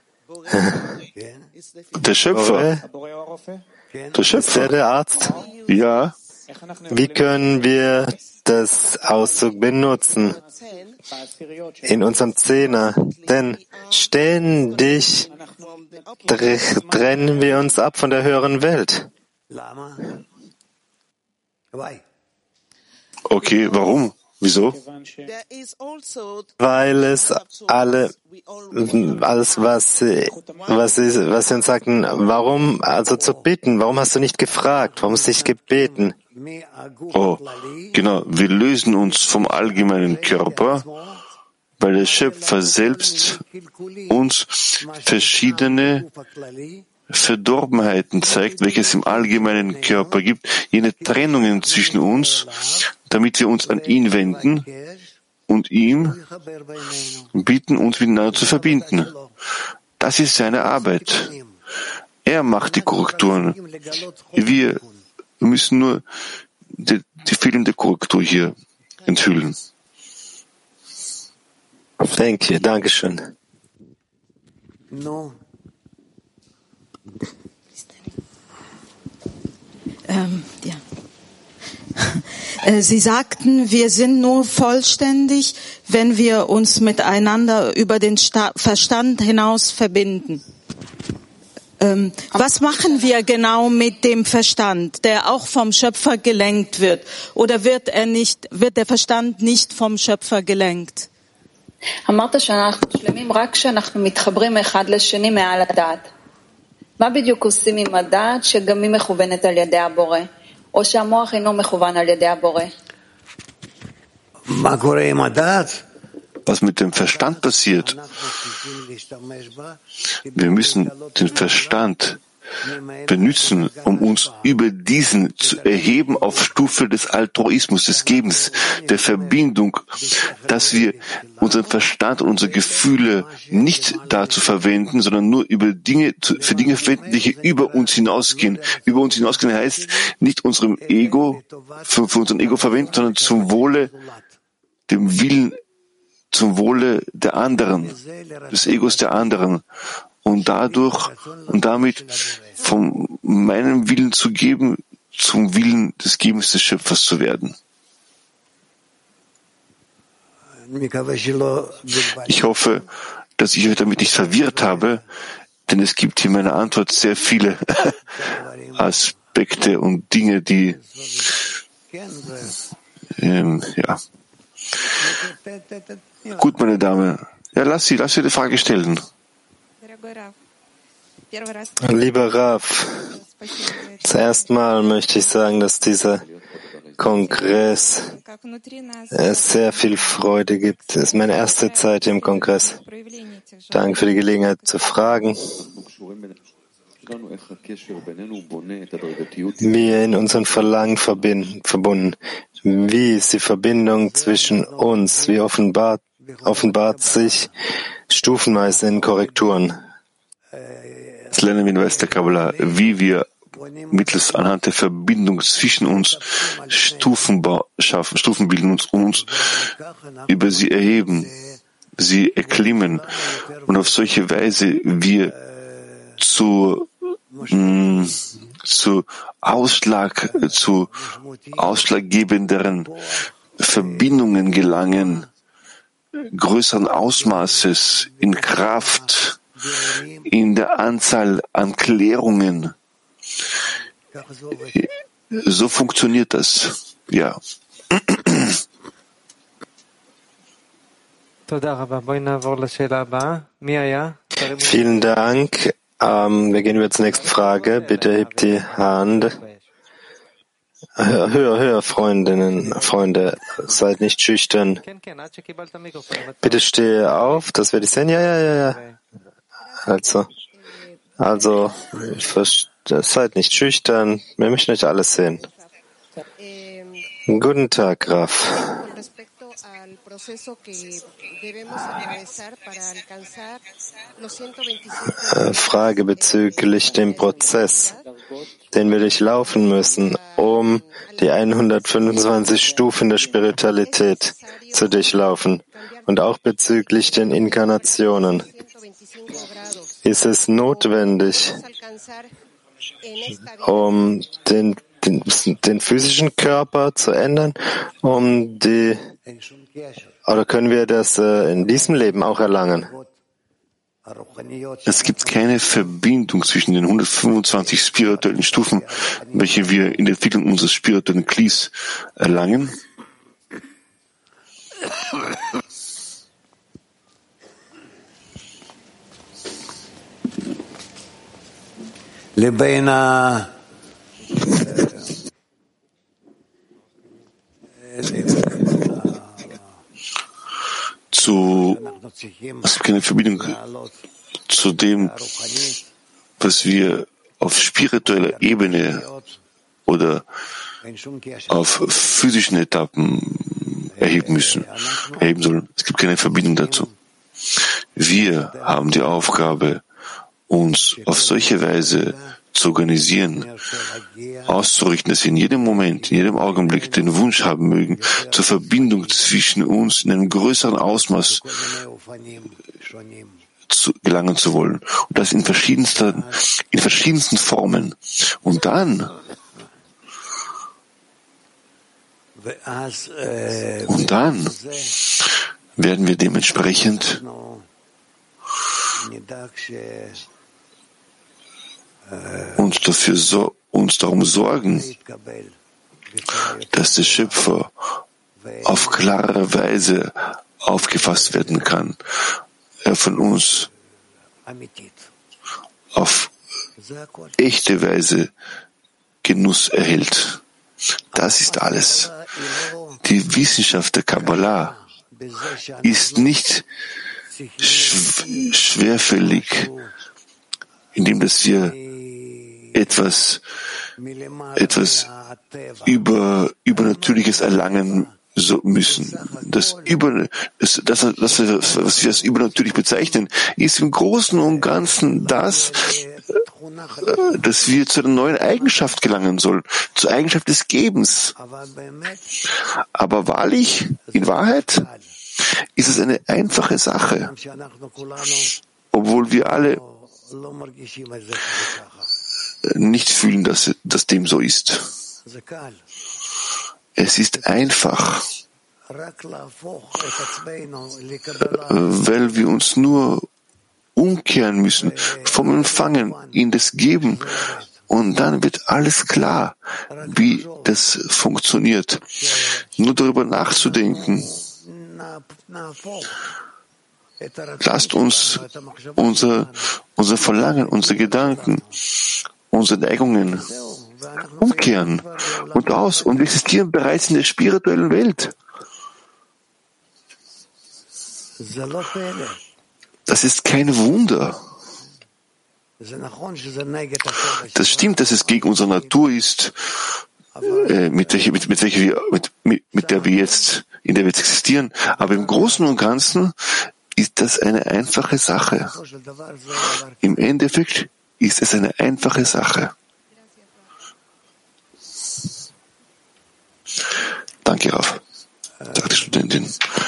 Der Schöpfer. Der Schöpfer. Ist der Arzt? Ja. Wie können wir das Auszug benutzen in unserem Zehner? Denn ständig trennen wir uns ab von der höheren Welt. Okay, warum? Wieso? Weil es alles, was sie uns sagten, warum, also zu bitten, warum hast du nicht gefragt, warum hast du nicht gebeten? Oh, genau, wir lösen uns vom allgemeinen Körper, weil der Schöpfer selbst uns verschiedene Verdorbenheiten zeigt, welche es im allgemeinen Körper gibt, jene Trennungen zwischen uns, damit wir uns an ihn wenden und ihm bitten, uns miteinander zu verbinden. Das ist seine Arbeit. Er macht die Korrekturen. Wir müssen nur die fehlende Korrektur hier enthüllen. Thank you. Dankeschön. Ja. Sie sagten, wir sind nur vollständig, wenn wir uns miteinander über den Verstand hinaus verbinden. Was machen wir genau mit dem Verstand, der auch vom Schöpfer gelenkt wird? Oder wird der Verstand nicht vom Schöpfer gelenkt? אמרת שאנחנו שלמים רק כשאנחנו מתחברים אחד לשני מעל הדעת. מה בדיוק עושים עם הדעת שגם היא מכוונת על ידי הבורא, או שהמוח אינו מכוון על ידי הבורא? Was mit dem Verstand passiert? Wir müssen den Verstand benutzen, um uns über diesen zu erheben auf Stufe des Altruismus, des Gebens, der Verbindung, dass wir unseren Verstand und unsere Gefühle nicht dazu verwenden, sondern nur über für Dinge verwenden, die hier über uns hinausgehen. Über uns hinausgehen heißt nicht unserem Ego, für unseren Ego verwenden, sondern zum Wohle, dem Willen, zum Wohle der anderen, des Egos der anderen. Und damit von meinem Willen zu geben, zum Willen des Gebens des Schöpfers zu werden. Ich hoffe, dass ich euch damit nicht verwirrt habe, denn es gibt hier in meiner Antwort sehr viele Aspekte und Dinge, die ja. Gut, meine Dame. Ja, lass sie die Frage stellen. Lieber Rav, zuerst mal möchte ich sagen, dass dieser Kongress es sehr viel Freude gibt. Es ist meine erste Zeit im Kongress. Danke für die Gelegenheit zu fragen. Wir in unseren Verlangen verbunden. Wie ist die Verbindung zwischen uns? Wie offenbart sich stufenweise in Korrekturen? Das lernen wir in Weis der Kabbalah, wie wir mittels anhand der Verbindung zwischen uns Stufen bilden und uns über sie erheben, sie erklimmen und auf solche Weise wir zu ausschlaggebenderen Verbindungen gelangen, größeren Ausmaßes in Kraft, in der Anzahl an Klärungen. So funktioniert das. Ja. Vielen Dank. Wir gehen über zur nächsten Frage. Bitte hebt die Hand. Höher, Freunde, seid nicht schüchtern. Bitte stehe auf, dass wir dich sehen. Ja. Also, seid nicht schüchtern. Wir möchten euch alles sehen. Guten Tag, Graf. Frage bezüglich dem Prozess, den wir durchlaufen müssen, um die 125 Stufen der Spiritualität zu durchlaufen und auch bezüglich den Inkarnationen. Ist es notwendig, um den physischen Körper zu ändern, oder können wir das in diesem Leben auch erlangen? Es gibt keine Verbindung zwischen den 125 spirituellen Stufen, welche wir in der Entwicklung unseres spirituellen Klis erlangen. Es gibt keine Verbindung zu dem, was wir auf spiritueller Ebene oder auf physischen Etappen erheben sollen. Es gibt keine Verbindung dazu. Wir haben die Aufgabe, uns auf solche Weise zu organisieren, auszurichten, dass wir in jedem Moment, in jedem Augenblick den Wunsch haben mögen, zur Verbindung zwischen uns in einem größeren Ausmaß gelangen zu wollen. Und das in verschiedensten Formen. Und dann werden wir dementsprechend uns darum sorgen, dass der Schöpfer auf klare Weise aufgefasst werden kann. Er von uns auf echte Weise Genuss erhält. Das ist alles. Die Wissenschaft der Kabbalah ist nicht schwerfällig, indem dass wir etwas Übernatürliches erlangen müssen. Was wir als übernatürlich bezeichnen, ist im Großen und Ganzen das, dass wir zu einer neuen Eigenschaft gelangen sollen, zur Eigenschaft des Gebens. Aber wahrlich, in Wahrheit, ist es eine einfache Sache, obwohl wir alle nicht fühlen, dass dem so ist. Es ist einfach, weil wir uns nur umkehren müssen vom Empfangen in das Geben, und dann wird alles klar, wie das funktioniert. Nur darüber nachzudenken. Lasst uns unser Verlangen, unsere Gedanken, unsere Neigungen umkehren und wir existieren bereits in der spirituellen Welt. Das ist kein Wunder. Das stimmt, dass es gegen unsere Natur ist, mit der wir jetzt existieren. Aber im Großen und Ganzen ist das eine einfache Sache. Im Endeffekt ist es eine einfache Sache. Danke, Rav, sagt die Studentin.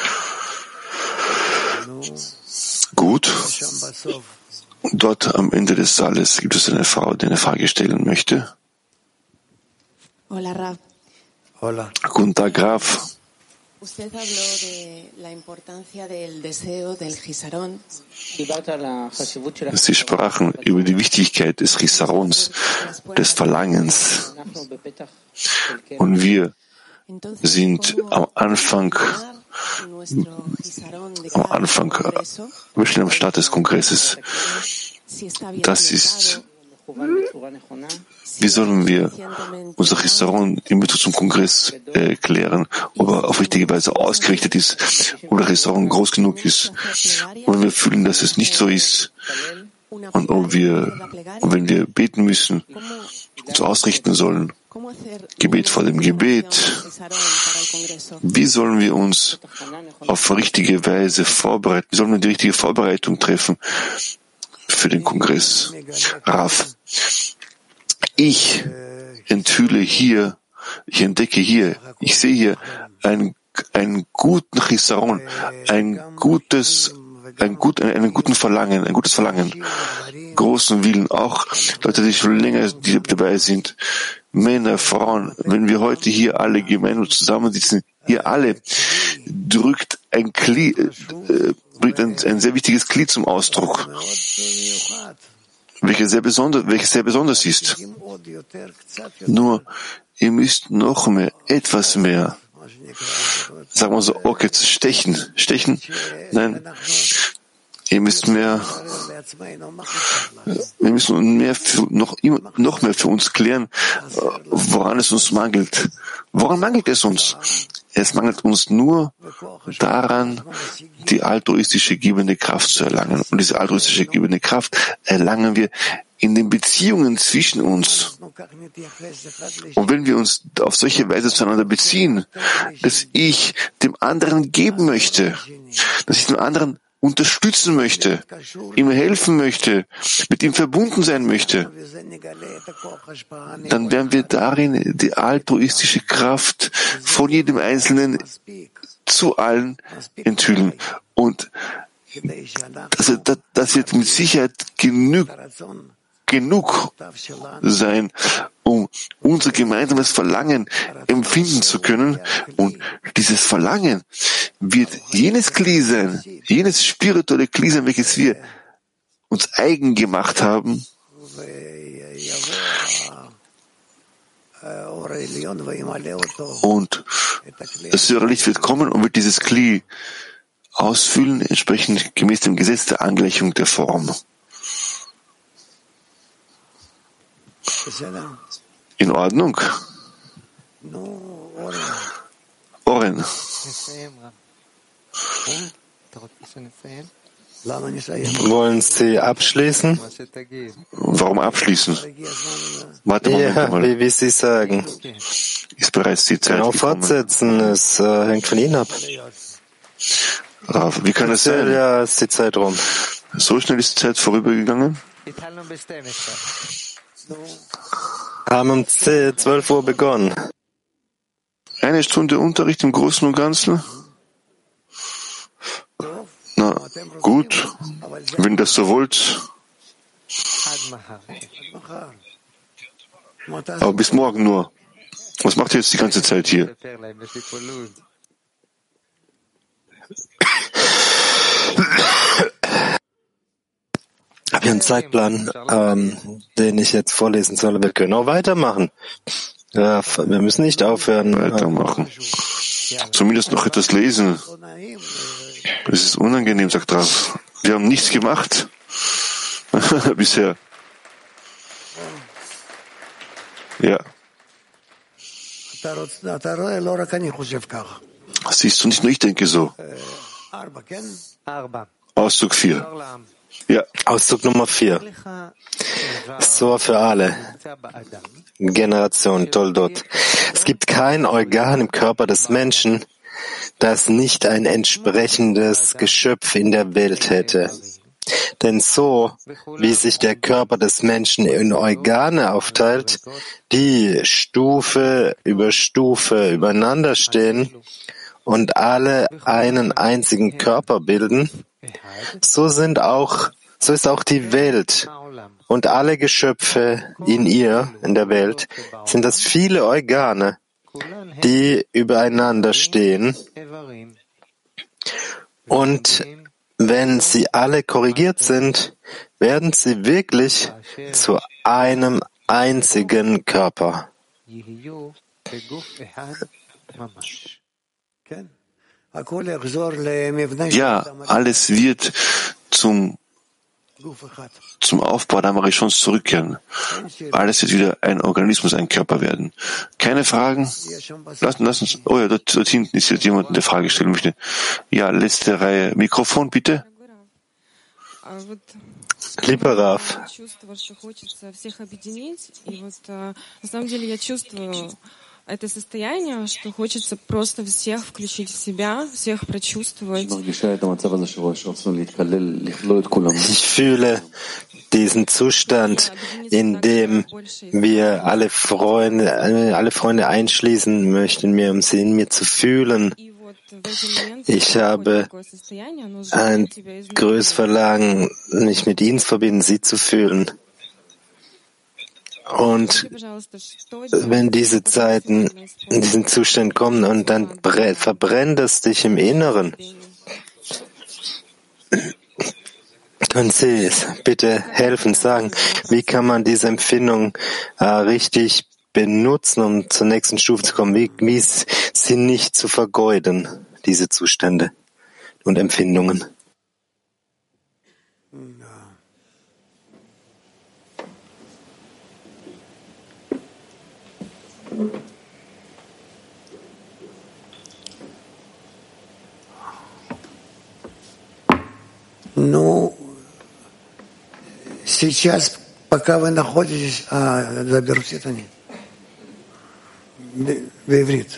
Gut. Dort am Ende des Saales gibt es eine Frau, die eine Frage stellen möchte. Hola, Rav. Hola. Guten Tag, Rav. Usted habló de la importancia del deseo del Chisarón. Sie sprachen über die Wichtigkeit des Chisarons, des Verlangens. Und wir sind am Anfang, wir stehen am Start des Kongresses. Das ist, wie sollen wir unser Chisaron in Bezug zum Kongress klären, ob er auf richtige Weise ausgerichtet ist, ob der Chisaron groß genug ist. Und wenn wir fühlen, dass es nicht so ist, und wenn wir beten müssen, uns ausrichten sollen, Gebet vor dem Gebet, wie sollen wir uns auf richtige Weise vorbereiten? Wie sollen wir die richtige Vorbereitung treffen für den Kongress? Rav, ich entdecke hier, ich sehe hier einen guten Chisaron, ein gutes Verlangen, großen Willen, auch Leute, die schon länger dabei sind, Männer, Frauen, wenn wir heute hier alle gemeinsam zusammensitzen, ihr alle drückt ein sehr wichtiges Glied zum Ausdruck, welches sehr besonders ist. Nur, ihr müsst noch mehr, etwas mehr, sagen wir so, okay, stechen, nein, wir müssen noch mehr für uns klären, woran es uns mangelt. Woran mangelt es uns? Es mangelt uns nur daran, die altruistische gebende Kraft zu erlangen. Und diese altruistische gebende Kraft erlangen wir in den Beziehungen zwischen uns. Und wenn wir uns auf solche Weise zueinander beziehen, dass ich dem anderen geben möchte, dass ich dem anderen unterstützen möchte, ihm helfen möchte, mit ihm verbunden sein möchte, dann werden wir darin die altruistische Kraft von jedem Einzelnen zu allen enthüllen. Und das wird mit Sicherheit genug sein, um unser gemeinsames Verlangen empfinden zu können. Und dieses Verlangen wird jenes Kli sein, jenes spirituelle Kli sein, welches wir uns eigen gemacht haben. Und das höhere Licht wird kommen und wird dieses Kli ausfüllen, entsprechend gemäß dem Gesetz der Angleichung der Form. In Ordnung? Oren. Wollen Sie abschließen? Warum abschließen? Warte mal. Wie Sie sagen. Ist bereits die Zeit gekommen. Fortsetzen, es hängt von Ihnen ab. Rav, wie kann es sein? Ja, ist die Zeit rum. So schnell ist die Zeit vorübergegangen? Haben um 12 Uhr begonnen. Eine Stunde Unterricht im Großen und Ganzen? Na, gut. Wenn das so wollt. Aber bis morgen nur. Was macht ihr jetzt die ganze Zeit hier? Ich habe hier einen Zeitplan, den ich jetzt vorlesen soll. Wir können auch weitermachen. Ja, wir müssen nicht aufhören. Weitermachen. Zumindest noch etwas lesen. Es ist unangenehm, sagt Rav. Wir haben nichts gemacht. Bisher. Ja. Siehst du nicht nur, ich denke so. Auszug 4. Ja. Auszug Nummer 4. So für alle Generationen, Toldot. Es gibt kein Organ im Körper des Menschen, das nicht ein entsprechendes Geschöpf in der Welt hätte. Denn so, wie sich der Körper des Menschen in Organe aufteilt, die Stufe über Stufe übereinander stehen und alle einen einzigen Körper bilden, so ist auch die Welt und alle Geschöpfe in ihr, in der Welt, sind das viele Organe, die übereinander stehen. Und wenn sie alle korrigiert sind, werden sie wirklich zu einem einzigen Körper. Ja, alles wird zum Aufbau der Marishons zurückkehren. Alles wird wieder ein Organismus, ein Körper werden. Keine Fragen? Lass uns. Oh ja, dort hinten ist jetzt jemand, der Frage stellen möchte. Ja, letzte Reihe. Mikrofon, bitte. Lieber Rav, это состояние, что хочется просто всех включить в себя, всех прочувствовать. Ich fühle diesen Zustand, in dem wir alle Freunde einschließen möchten, mir zu fühlen. Ich habe ein größeres Verlangen, mich mit ihnen zu verbinden, sie zu fühlen. Und wenn diese Zeiten in diesen Zustand kommen und dann verbrennt es dich im Inneren, können Sie bitte helfen, sagen, wie kann man diese Empfindung richtig benutzen, um zur nächsten Stufe zu kommen, wie sie nicht zu vergeuden, diese Zustände und Empfindungen. Ну, сейчас, пока вы находитесь, заберут они в иврит.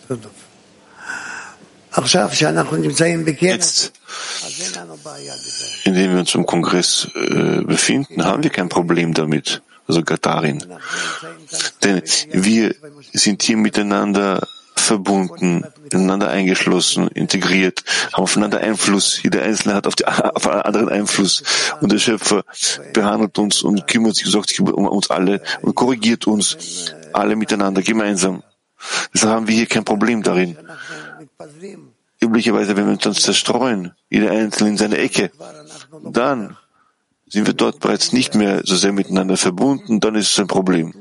Jetzt, indem wir uns im Kongress befinden, haben wir kein Problem damit, sogar darin. Denn wir sind hier miteinander verbunden, ineinander eingeschlossen, integriert, haben aufeinander Einfluss. Jeder Einzelne hat auf einen anderen Einfluss. Und der Schöpfer behandelt uns und kümmert sich um uns alle und korrigiert uns alle miteinander, gemeinsam. Deshalb haben wir hier kein Problem darin. Üblicherweise, wenn wir uns dann zerstreuen, jeder Einzelne in seine Ecke, dann sind wir dort bereits nicht mehr so sehr miteinander verbunden, dann ist es ein Problem.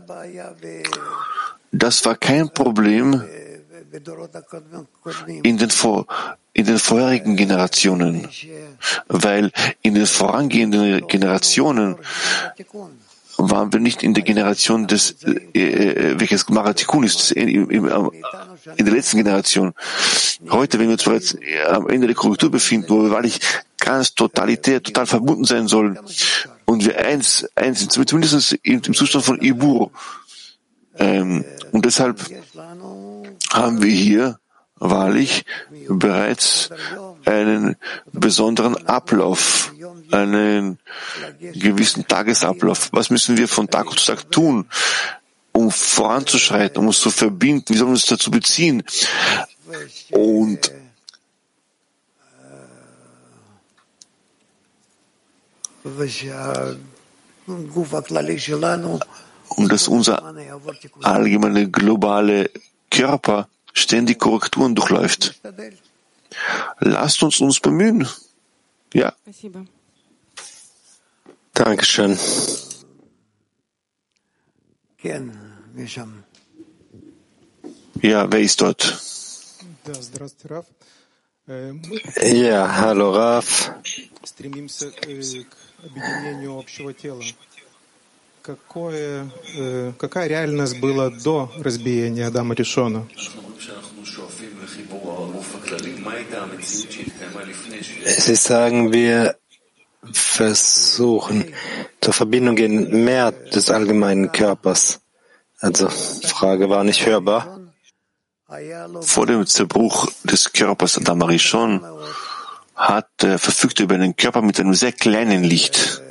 Das war kein Problem in den vorherigen Generationen, weil in den vorangehenden Generationen waren wir nicht in der Generation welches Maratikun ist, in der letzten Generation. Heute, wenn wir uns bereits am Ende der Korrektur befinden, wo wir wahrlich ganz totalitär, total verbunden sein sollen und wir eins sind, zumindest im Zustand von Ibur. Und deshalb haben wir hier wahrlich bereits einen besonderen Ablauf, einen gewissen Tagesablauf. Was müssen wir von Tag zu Tag tun, um voranzuschreiten, um uns zu verbinden? Wie sollen wir uns dazu beziehen? Und dass unser allgemeiner globale Körper ständig Korrekturen durchläuft. Lasst uns bemühen. Ja. Dankeschön. Ja, wer ist dort? Ja, hallo Rav. Какая реальность была до разбиения Адама Ришона? Sie sagen, wir versuchen, zur Verbindung gehen, mehr des allgemeinen Körpers. Also, Frage war nicht hörbar. Vor dem Zerbruch des Körpers Adam Arishon verfügte über einen Körper mit einem sehr kleinen Licht.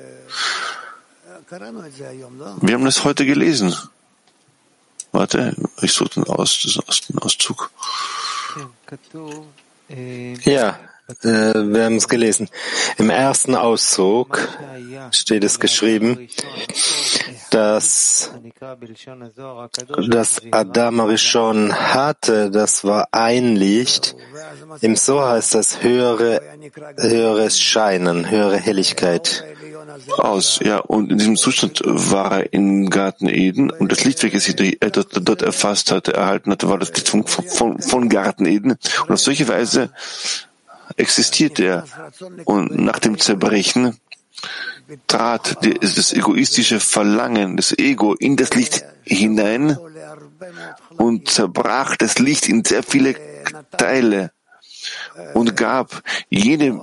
Wir haben das heute gelesen. Warte, ich suche den Auszug. Ja, wir haben es gelesen. Im ersten Auszug steht es geschrieben, dass das Adam Arishon hatte, das war ein Licht. Im Zohar heißt das höheres Scheinen, höhere Helligkeit. Und in diesem Zustand war er im Garten Eden und das Licht, welches er dort erfasst hatte, erhalten hatte, war das Licht von Garten Eden. Und auf solche Weise existierte er. Und nach dem Zerbrechen trat das egoistische Verlangen, das Ego, in das Licht hinein und zerbrach das Licht in sehr viele Teile und gab jedem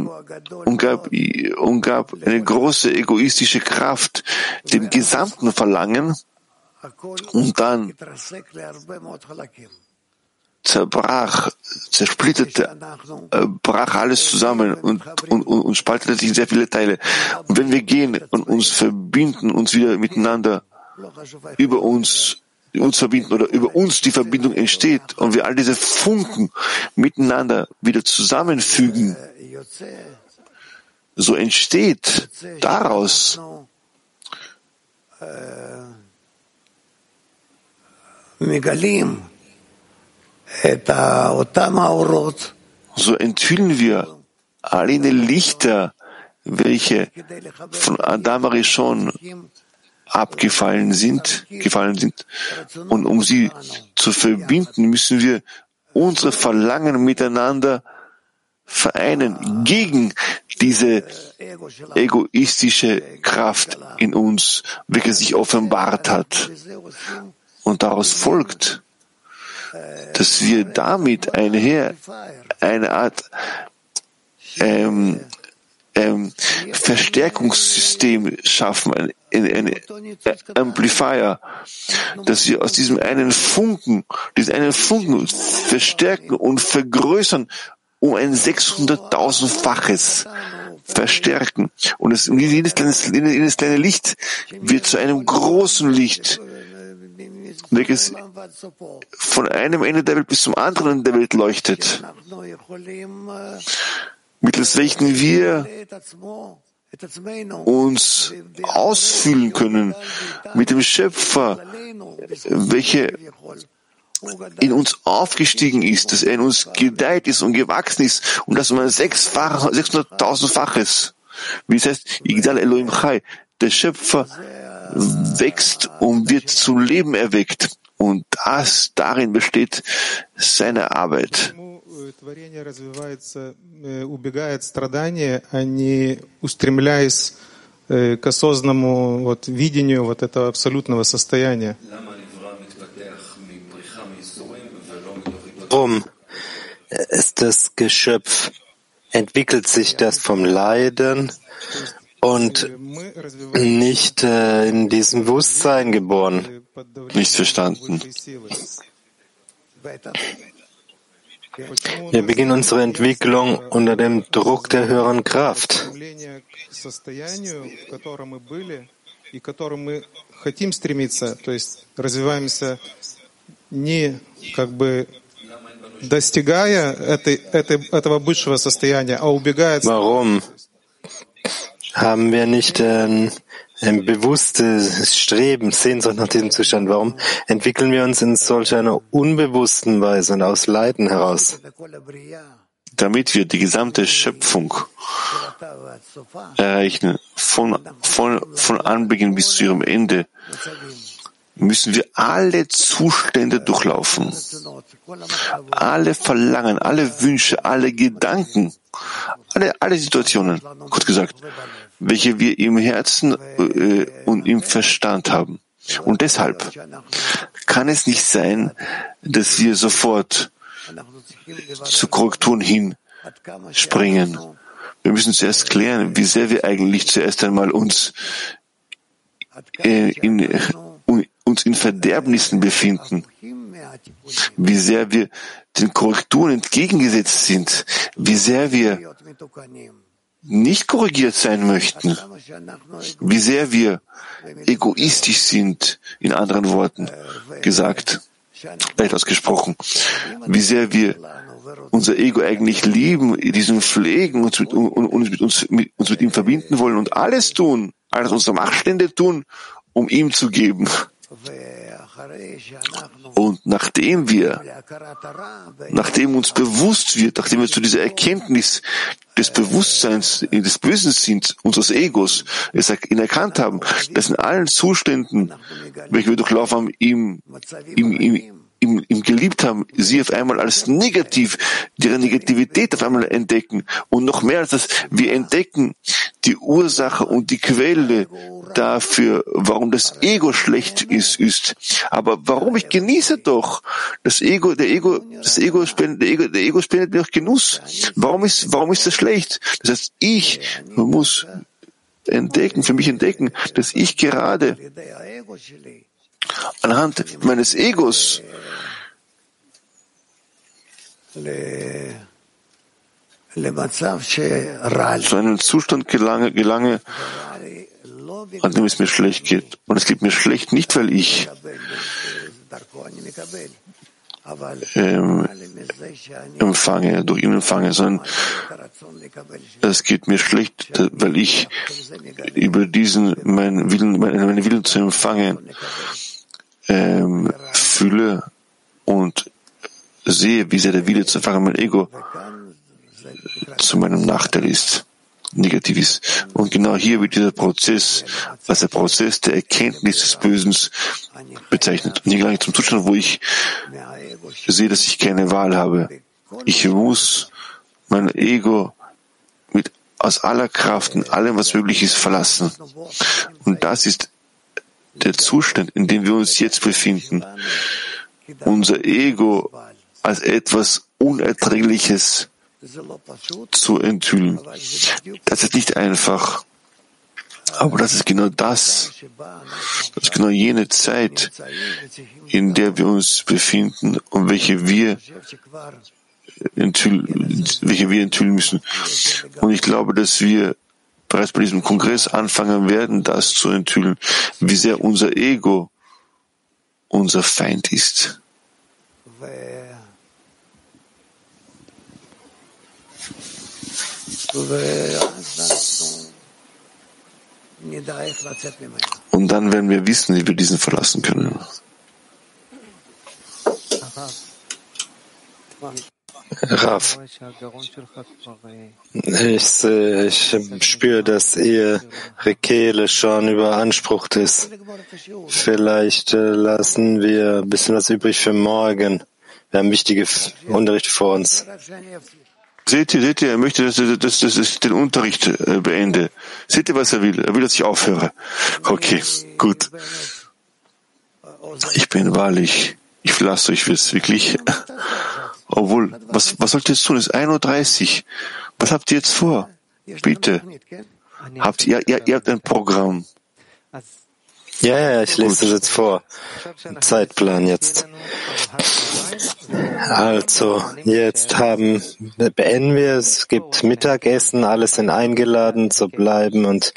eine große egoistische Kraft, dem gesamten Verlangen, und dann zersplitterte, brach alles zusammen und spaltete sich in sehr viele Teile. Und wenn wir gehen und uns verbinden, uns wieder miteinander über uns verbinden oder über uns die Verbindung entsteht und wir all diese Funken miteinander wieder zusammenfügen, so entsteht daraus so enthüllen wir all jene Lichter, welche von Adam Arishon gefallen sind. Und um sie zu verbinden, müssen wir unsere Verlangen miteinander vereinen gegen diese egoistische Kraft in uns, welche sich offenbart hat. Und daraus folgt, dass wir damit eine Art Verstärkungssystem schaffen, ein Amplifier, dass wir aus diesen einen Funken verstärken und vergrößern um ein 600.000-faches verstärken. Und jedes kleine Licht wird zu einem großen Licht, welches von einem Ende der Welt bis zum anderen Ende der Welt leuchtet, mittels welchen wir uns ausfüllen können mit dem Schöpfer, welcher in uns aufgestiegen ist, dass er in uns gedeiht ist und gewachsen ist und das um ein 600.000-faches. Wie es heißt, Yigdal Elohim Chai, der Schöpfer wächst und wird zum Leben erweckt. Und darin besteht seine Arbeit. Творение развивается, убегает страдания, а не устремляясь к осознанному видению этого абсолютного состояния. Warum ist das Geschöpf, entwickelt sich das vom Leiden und nicht in diesem Bewusstsein geboren? Nicht verstanden. Wir beginnen unsere Entwicklung unter dem Druck der höheren Kraft. Warum haben wir nicht ein bewusstes Streben, Sehnsucht nach diesem Zustand? Warum entwickeln wir uns in solch einer unbewussten Weise und aus Leiden heraus? Damit wir die gesamte Schöpfung erreichen, von Anbeginn bis zu ihrem Ende, müssen wir alle Zustände durchlaufen. Alle Verlangen, alle Wünsche, alle Gedanken, alle Situationen, kurz gesagt, welche wir im Herzen und im Verstand haben. Und deshalb kann es nicht sein, dass wir sofort zu Korrekturen hinspringen. Wir müssen zuerst klären, wie sehr wir eigentlich zuerst einmal uns in Verderbnissen befinden, wie sehr wir den Korrekturen entgegengesetzt sind, wie sehr wir nicht korrigiert sein möchten, wie sehr wir egoistisch sind, in anderen Worten gesagt, leicht ausgesprochen, wie sehr wir unser Ego eigentlich lieben, diesen pflegen, uns mit ihm verbinden wollen und alles tun, alles unsere Machtstände tun, um ihm zu geben. Und nachdem uns bewusst wird, nachdem wir zu dieser Erkenntnis des Bewusstseins, des Wissens unseres Egos, es erkannt haben, dass in allen Zuständen, welche wir durchlaufen haben, ihm geliebt haben, sie auf einmal als negativ, ihre Negativität auf einmal entdecken. Und noch mehr als das, wir entdecken die Ursache und die Quelle dafür, warum das Ego schlecht ist. Aber warum? Ich genieße doch. Der Ego spendet mir doch Genuss. Warum ist das schlecht? Das heißt, ich muss für mich entdecken, dass ich gerade anhand meines Egos zu einem Zustand gelange, an dem es mir schlecht geht. Und es geht mir schlecht nicht, weil ich durch ihn empfange, sondern es geht mir schlecht, weil ich über meinen Willen zu empfangen fühle und sehe, wie sehr der Wille zu empfangen mein Ego zu meinem Nachteil ist, negativ ist. Und genau hier wird dieser Prozess als der Prozess der Erkenntnis des Bösen bezeichnet. Und hier gelange ich zum Zustand, wo ich sehe, dass ich keine Wahl habe. Ich muss mein Ego aus aller Kraft und allem, was möglich ist, verlassen. Und das ist der Zustand, in dem wir uns jetzt befinden. Unser Ego als etwas Unerträgliches zu enthüllen. Das ist nicht einfach. Aber das ist genau das. Das ist genau jene Zeit, in der wir uns befinden und welche wir enthüllen müssen. Und ich glaube, dass wir bereits bei diesem Kongress anfangen werden, das zu enthüllen, wie sehr unser Ego unser Feind ist. Und dann werden wir wissen, wie wir diesen verlassen können. Rav, ich spüre, dass Ihre Kehle schon überansprucht ist. Vielleicht lassen wir ein bisschen was übrig für morgen. Wir haben wichtige Unterrichte vor uns. Seht ihr, er möchte, dass ich den Unterricht beende. Seht ihr, was er will? Er will, dass ich aufhöre. Okay, gut. Ich bin wahrlich, ich verlasse euch wirklich. Obwohl, was sollt ihr jetzt tun? Es ist 1:30 Uhr. Was habt ihr jetzt vor? Bitte. Ihr habt ein Programm. Ja, ich lese das jetzt vor. Zeitplan jetzt. Also, jetzt beenden wir. Es gibt Mittagessen, alle sind eingeladen zu bleiben und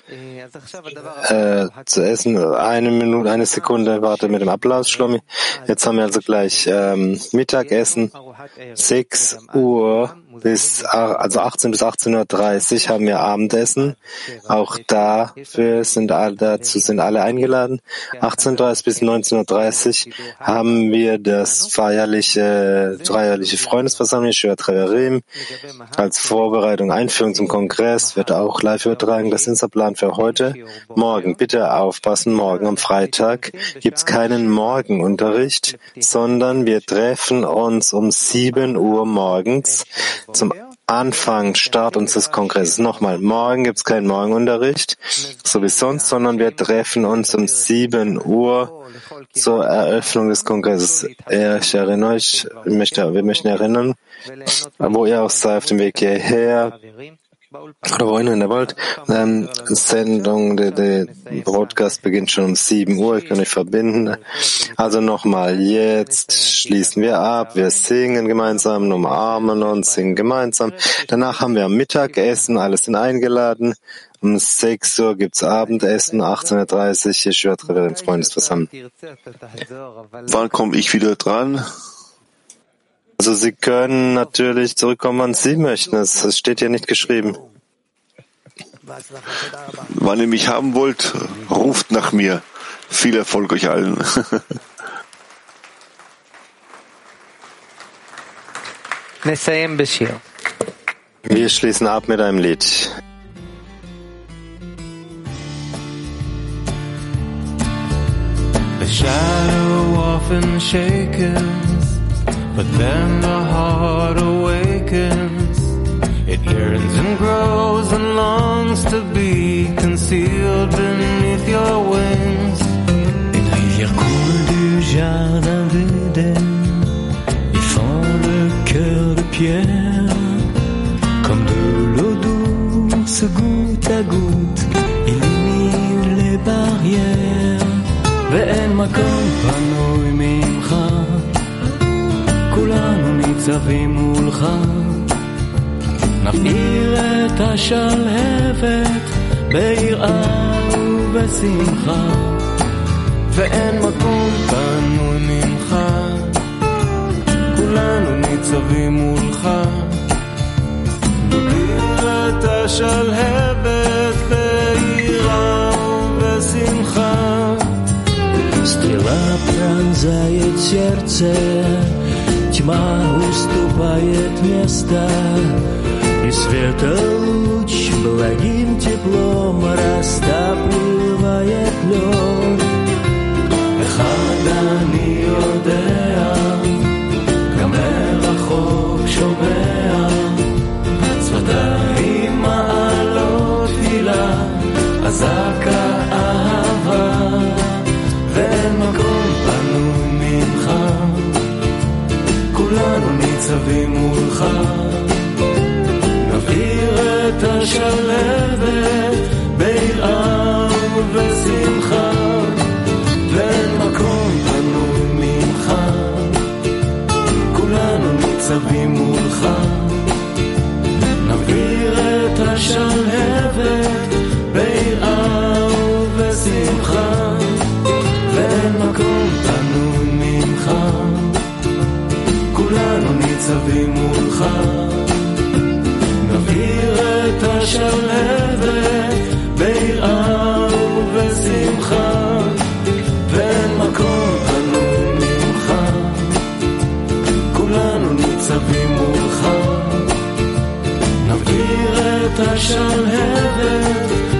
zu essen. Eine Sekunde, warte mit dem Applaus, Shlomi. Jetzt haben wir also gleich Mittagessen. 6 Uhr also 18 bis 18:30 Uhr haben wir Abendessen. Auch dazu sind alle eingeladen. 18:30 bis 19:30 Uhr haben wir das feierliche Freundesversammlung Shiva Treverim als Vorbereitung, Einführung zum Kongress, wird auch live übertragen. Das ist der Plan für heute. Morgen, bitte aufpassen, morgen am Freitag gibt's keinen Morgenunterricht, sondern wir treffen uns um 7 Uhr morgens zum Start unseres Kongresses. Nochmal, morgen gibt's keinen Morgenunterricht, so wie sonst, sondern wir treffen uns um 7 Uhr zur Eröffnung des Kongresses. Wir möchten erinnern, wo ihr auch seid auf dem Weg hierher. Oder wohin in der Welt? Sendung, der Broadcast beginnt schon um 7 Uhr. Ich kann euch verbinden. Also nochmal, jetzt schließen wir ab. Wir singen gemeinsam, umarmen uns, singen gemeinsam. Danach haben wir Mittagessen, alles sind eingeladen. Um 6 Uhr gibt's Abendessen, 18:30 Uhr, Yeshivat Referenz Freundesversammlung. Wann komme ich wieder dran? Also Sie können natürlich zurückkommen, wann Sie möchten. Es steht hier nicht geschrieben. Wann ihr mich haben wollt, ruft nach mir. Viel Erfolg euch allen. Wir schließen ab mit einem Lied. The shadow often shakens, but then the heart awakens. It yearns and grows and longs to be concealed beneath your wings. Une rivière coule du jardin d'Éden et fend le cœur de pierre. Comme de l'eau douce, goutte à goutte, illumine les barrières. ואין מקום פנוי ממך, כולנו ניצבים מולך. נבעיר את השלהבת ביראה ובשמחה, ואין מקום פנוי ממך, כולנו ניצבים מולך. נבעיר את השלהבת ביראה ובשמחה. Стрела пронзает сердце, тьма уступает место, и светолуч благим теплом растапливает лед. אחד אני יודע, גם מרחוק שומע, שפתיים מעלות תפילה, אזעקה אהבה. ואין מקום פנוי ממך, כולנו ניצבים מולך. נבעיר את השלהבת ביראה ובשמחה, ואין מקום פנוי ממך, כולנו ניצבים מולך. נבעיר את השלהבת ביראה ובשמחה, ואין מקום פנוי ממך, כולנו ניצבים מולך. נבעיר את השלהבת ביראה ובשמחה, ואין מקום פנוי ממך, כולנו ניצבים מולך. נבעיר את השלהבת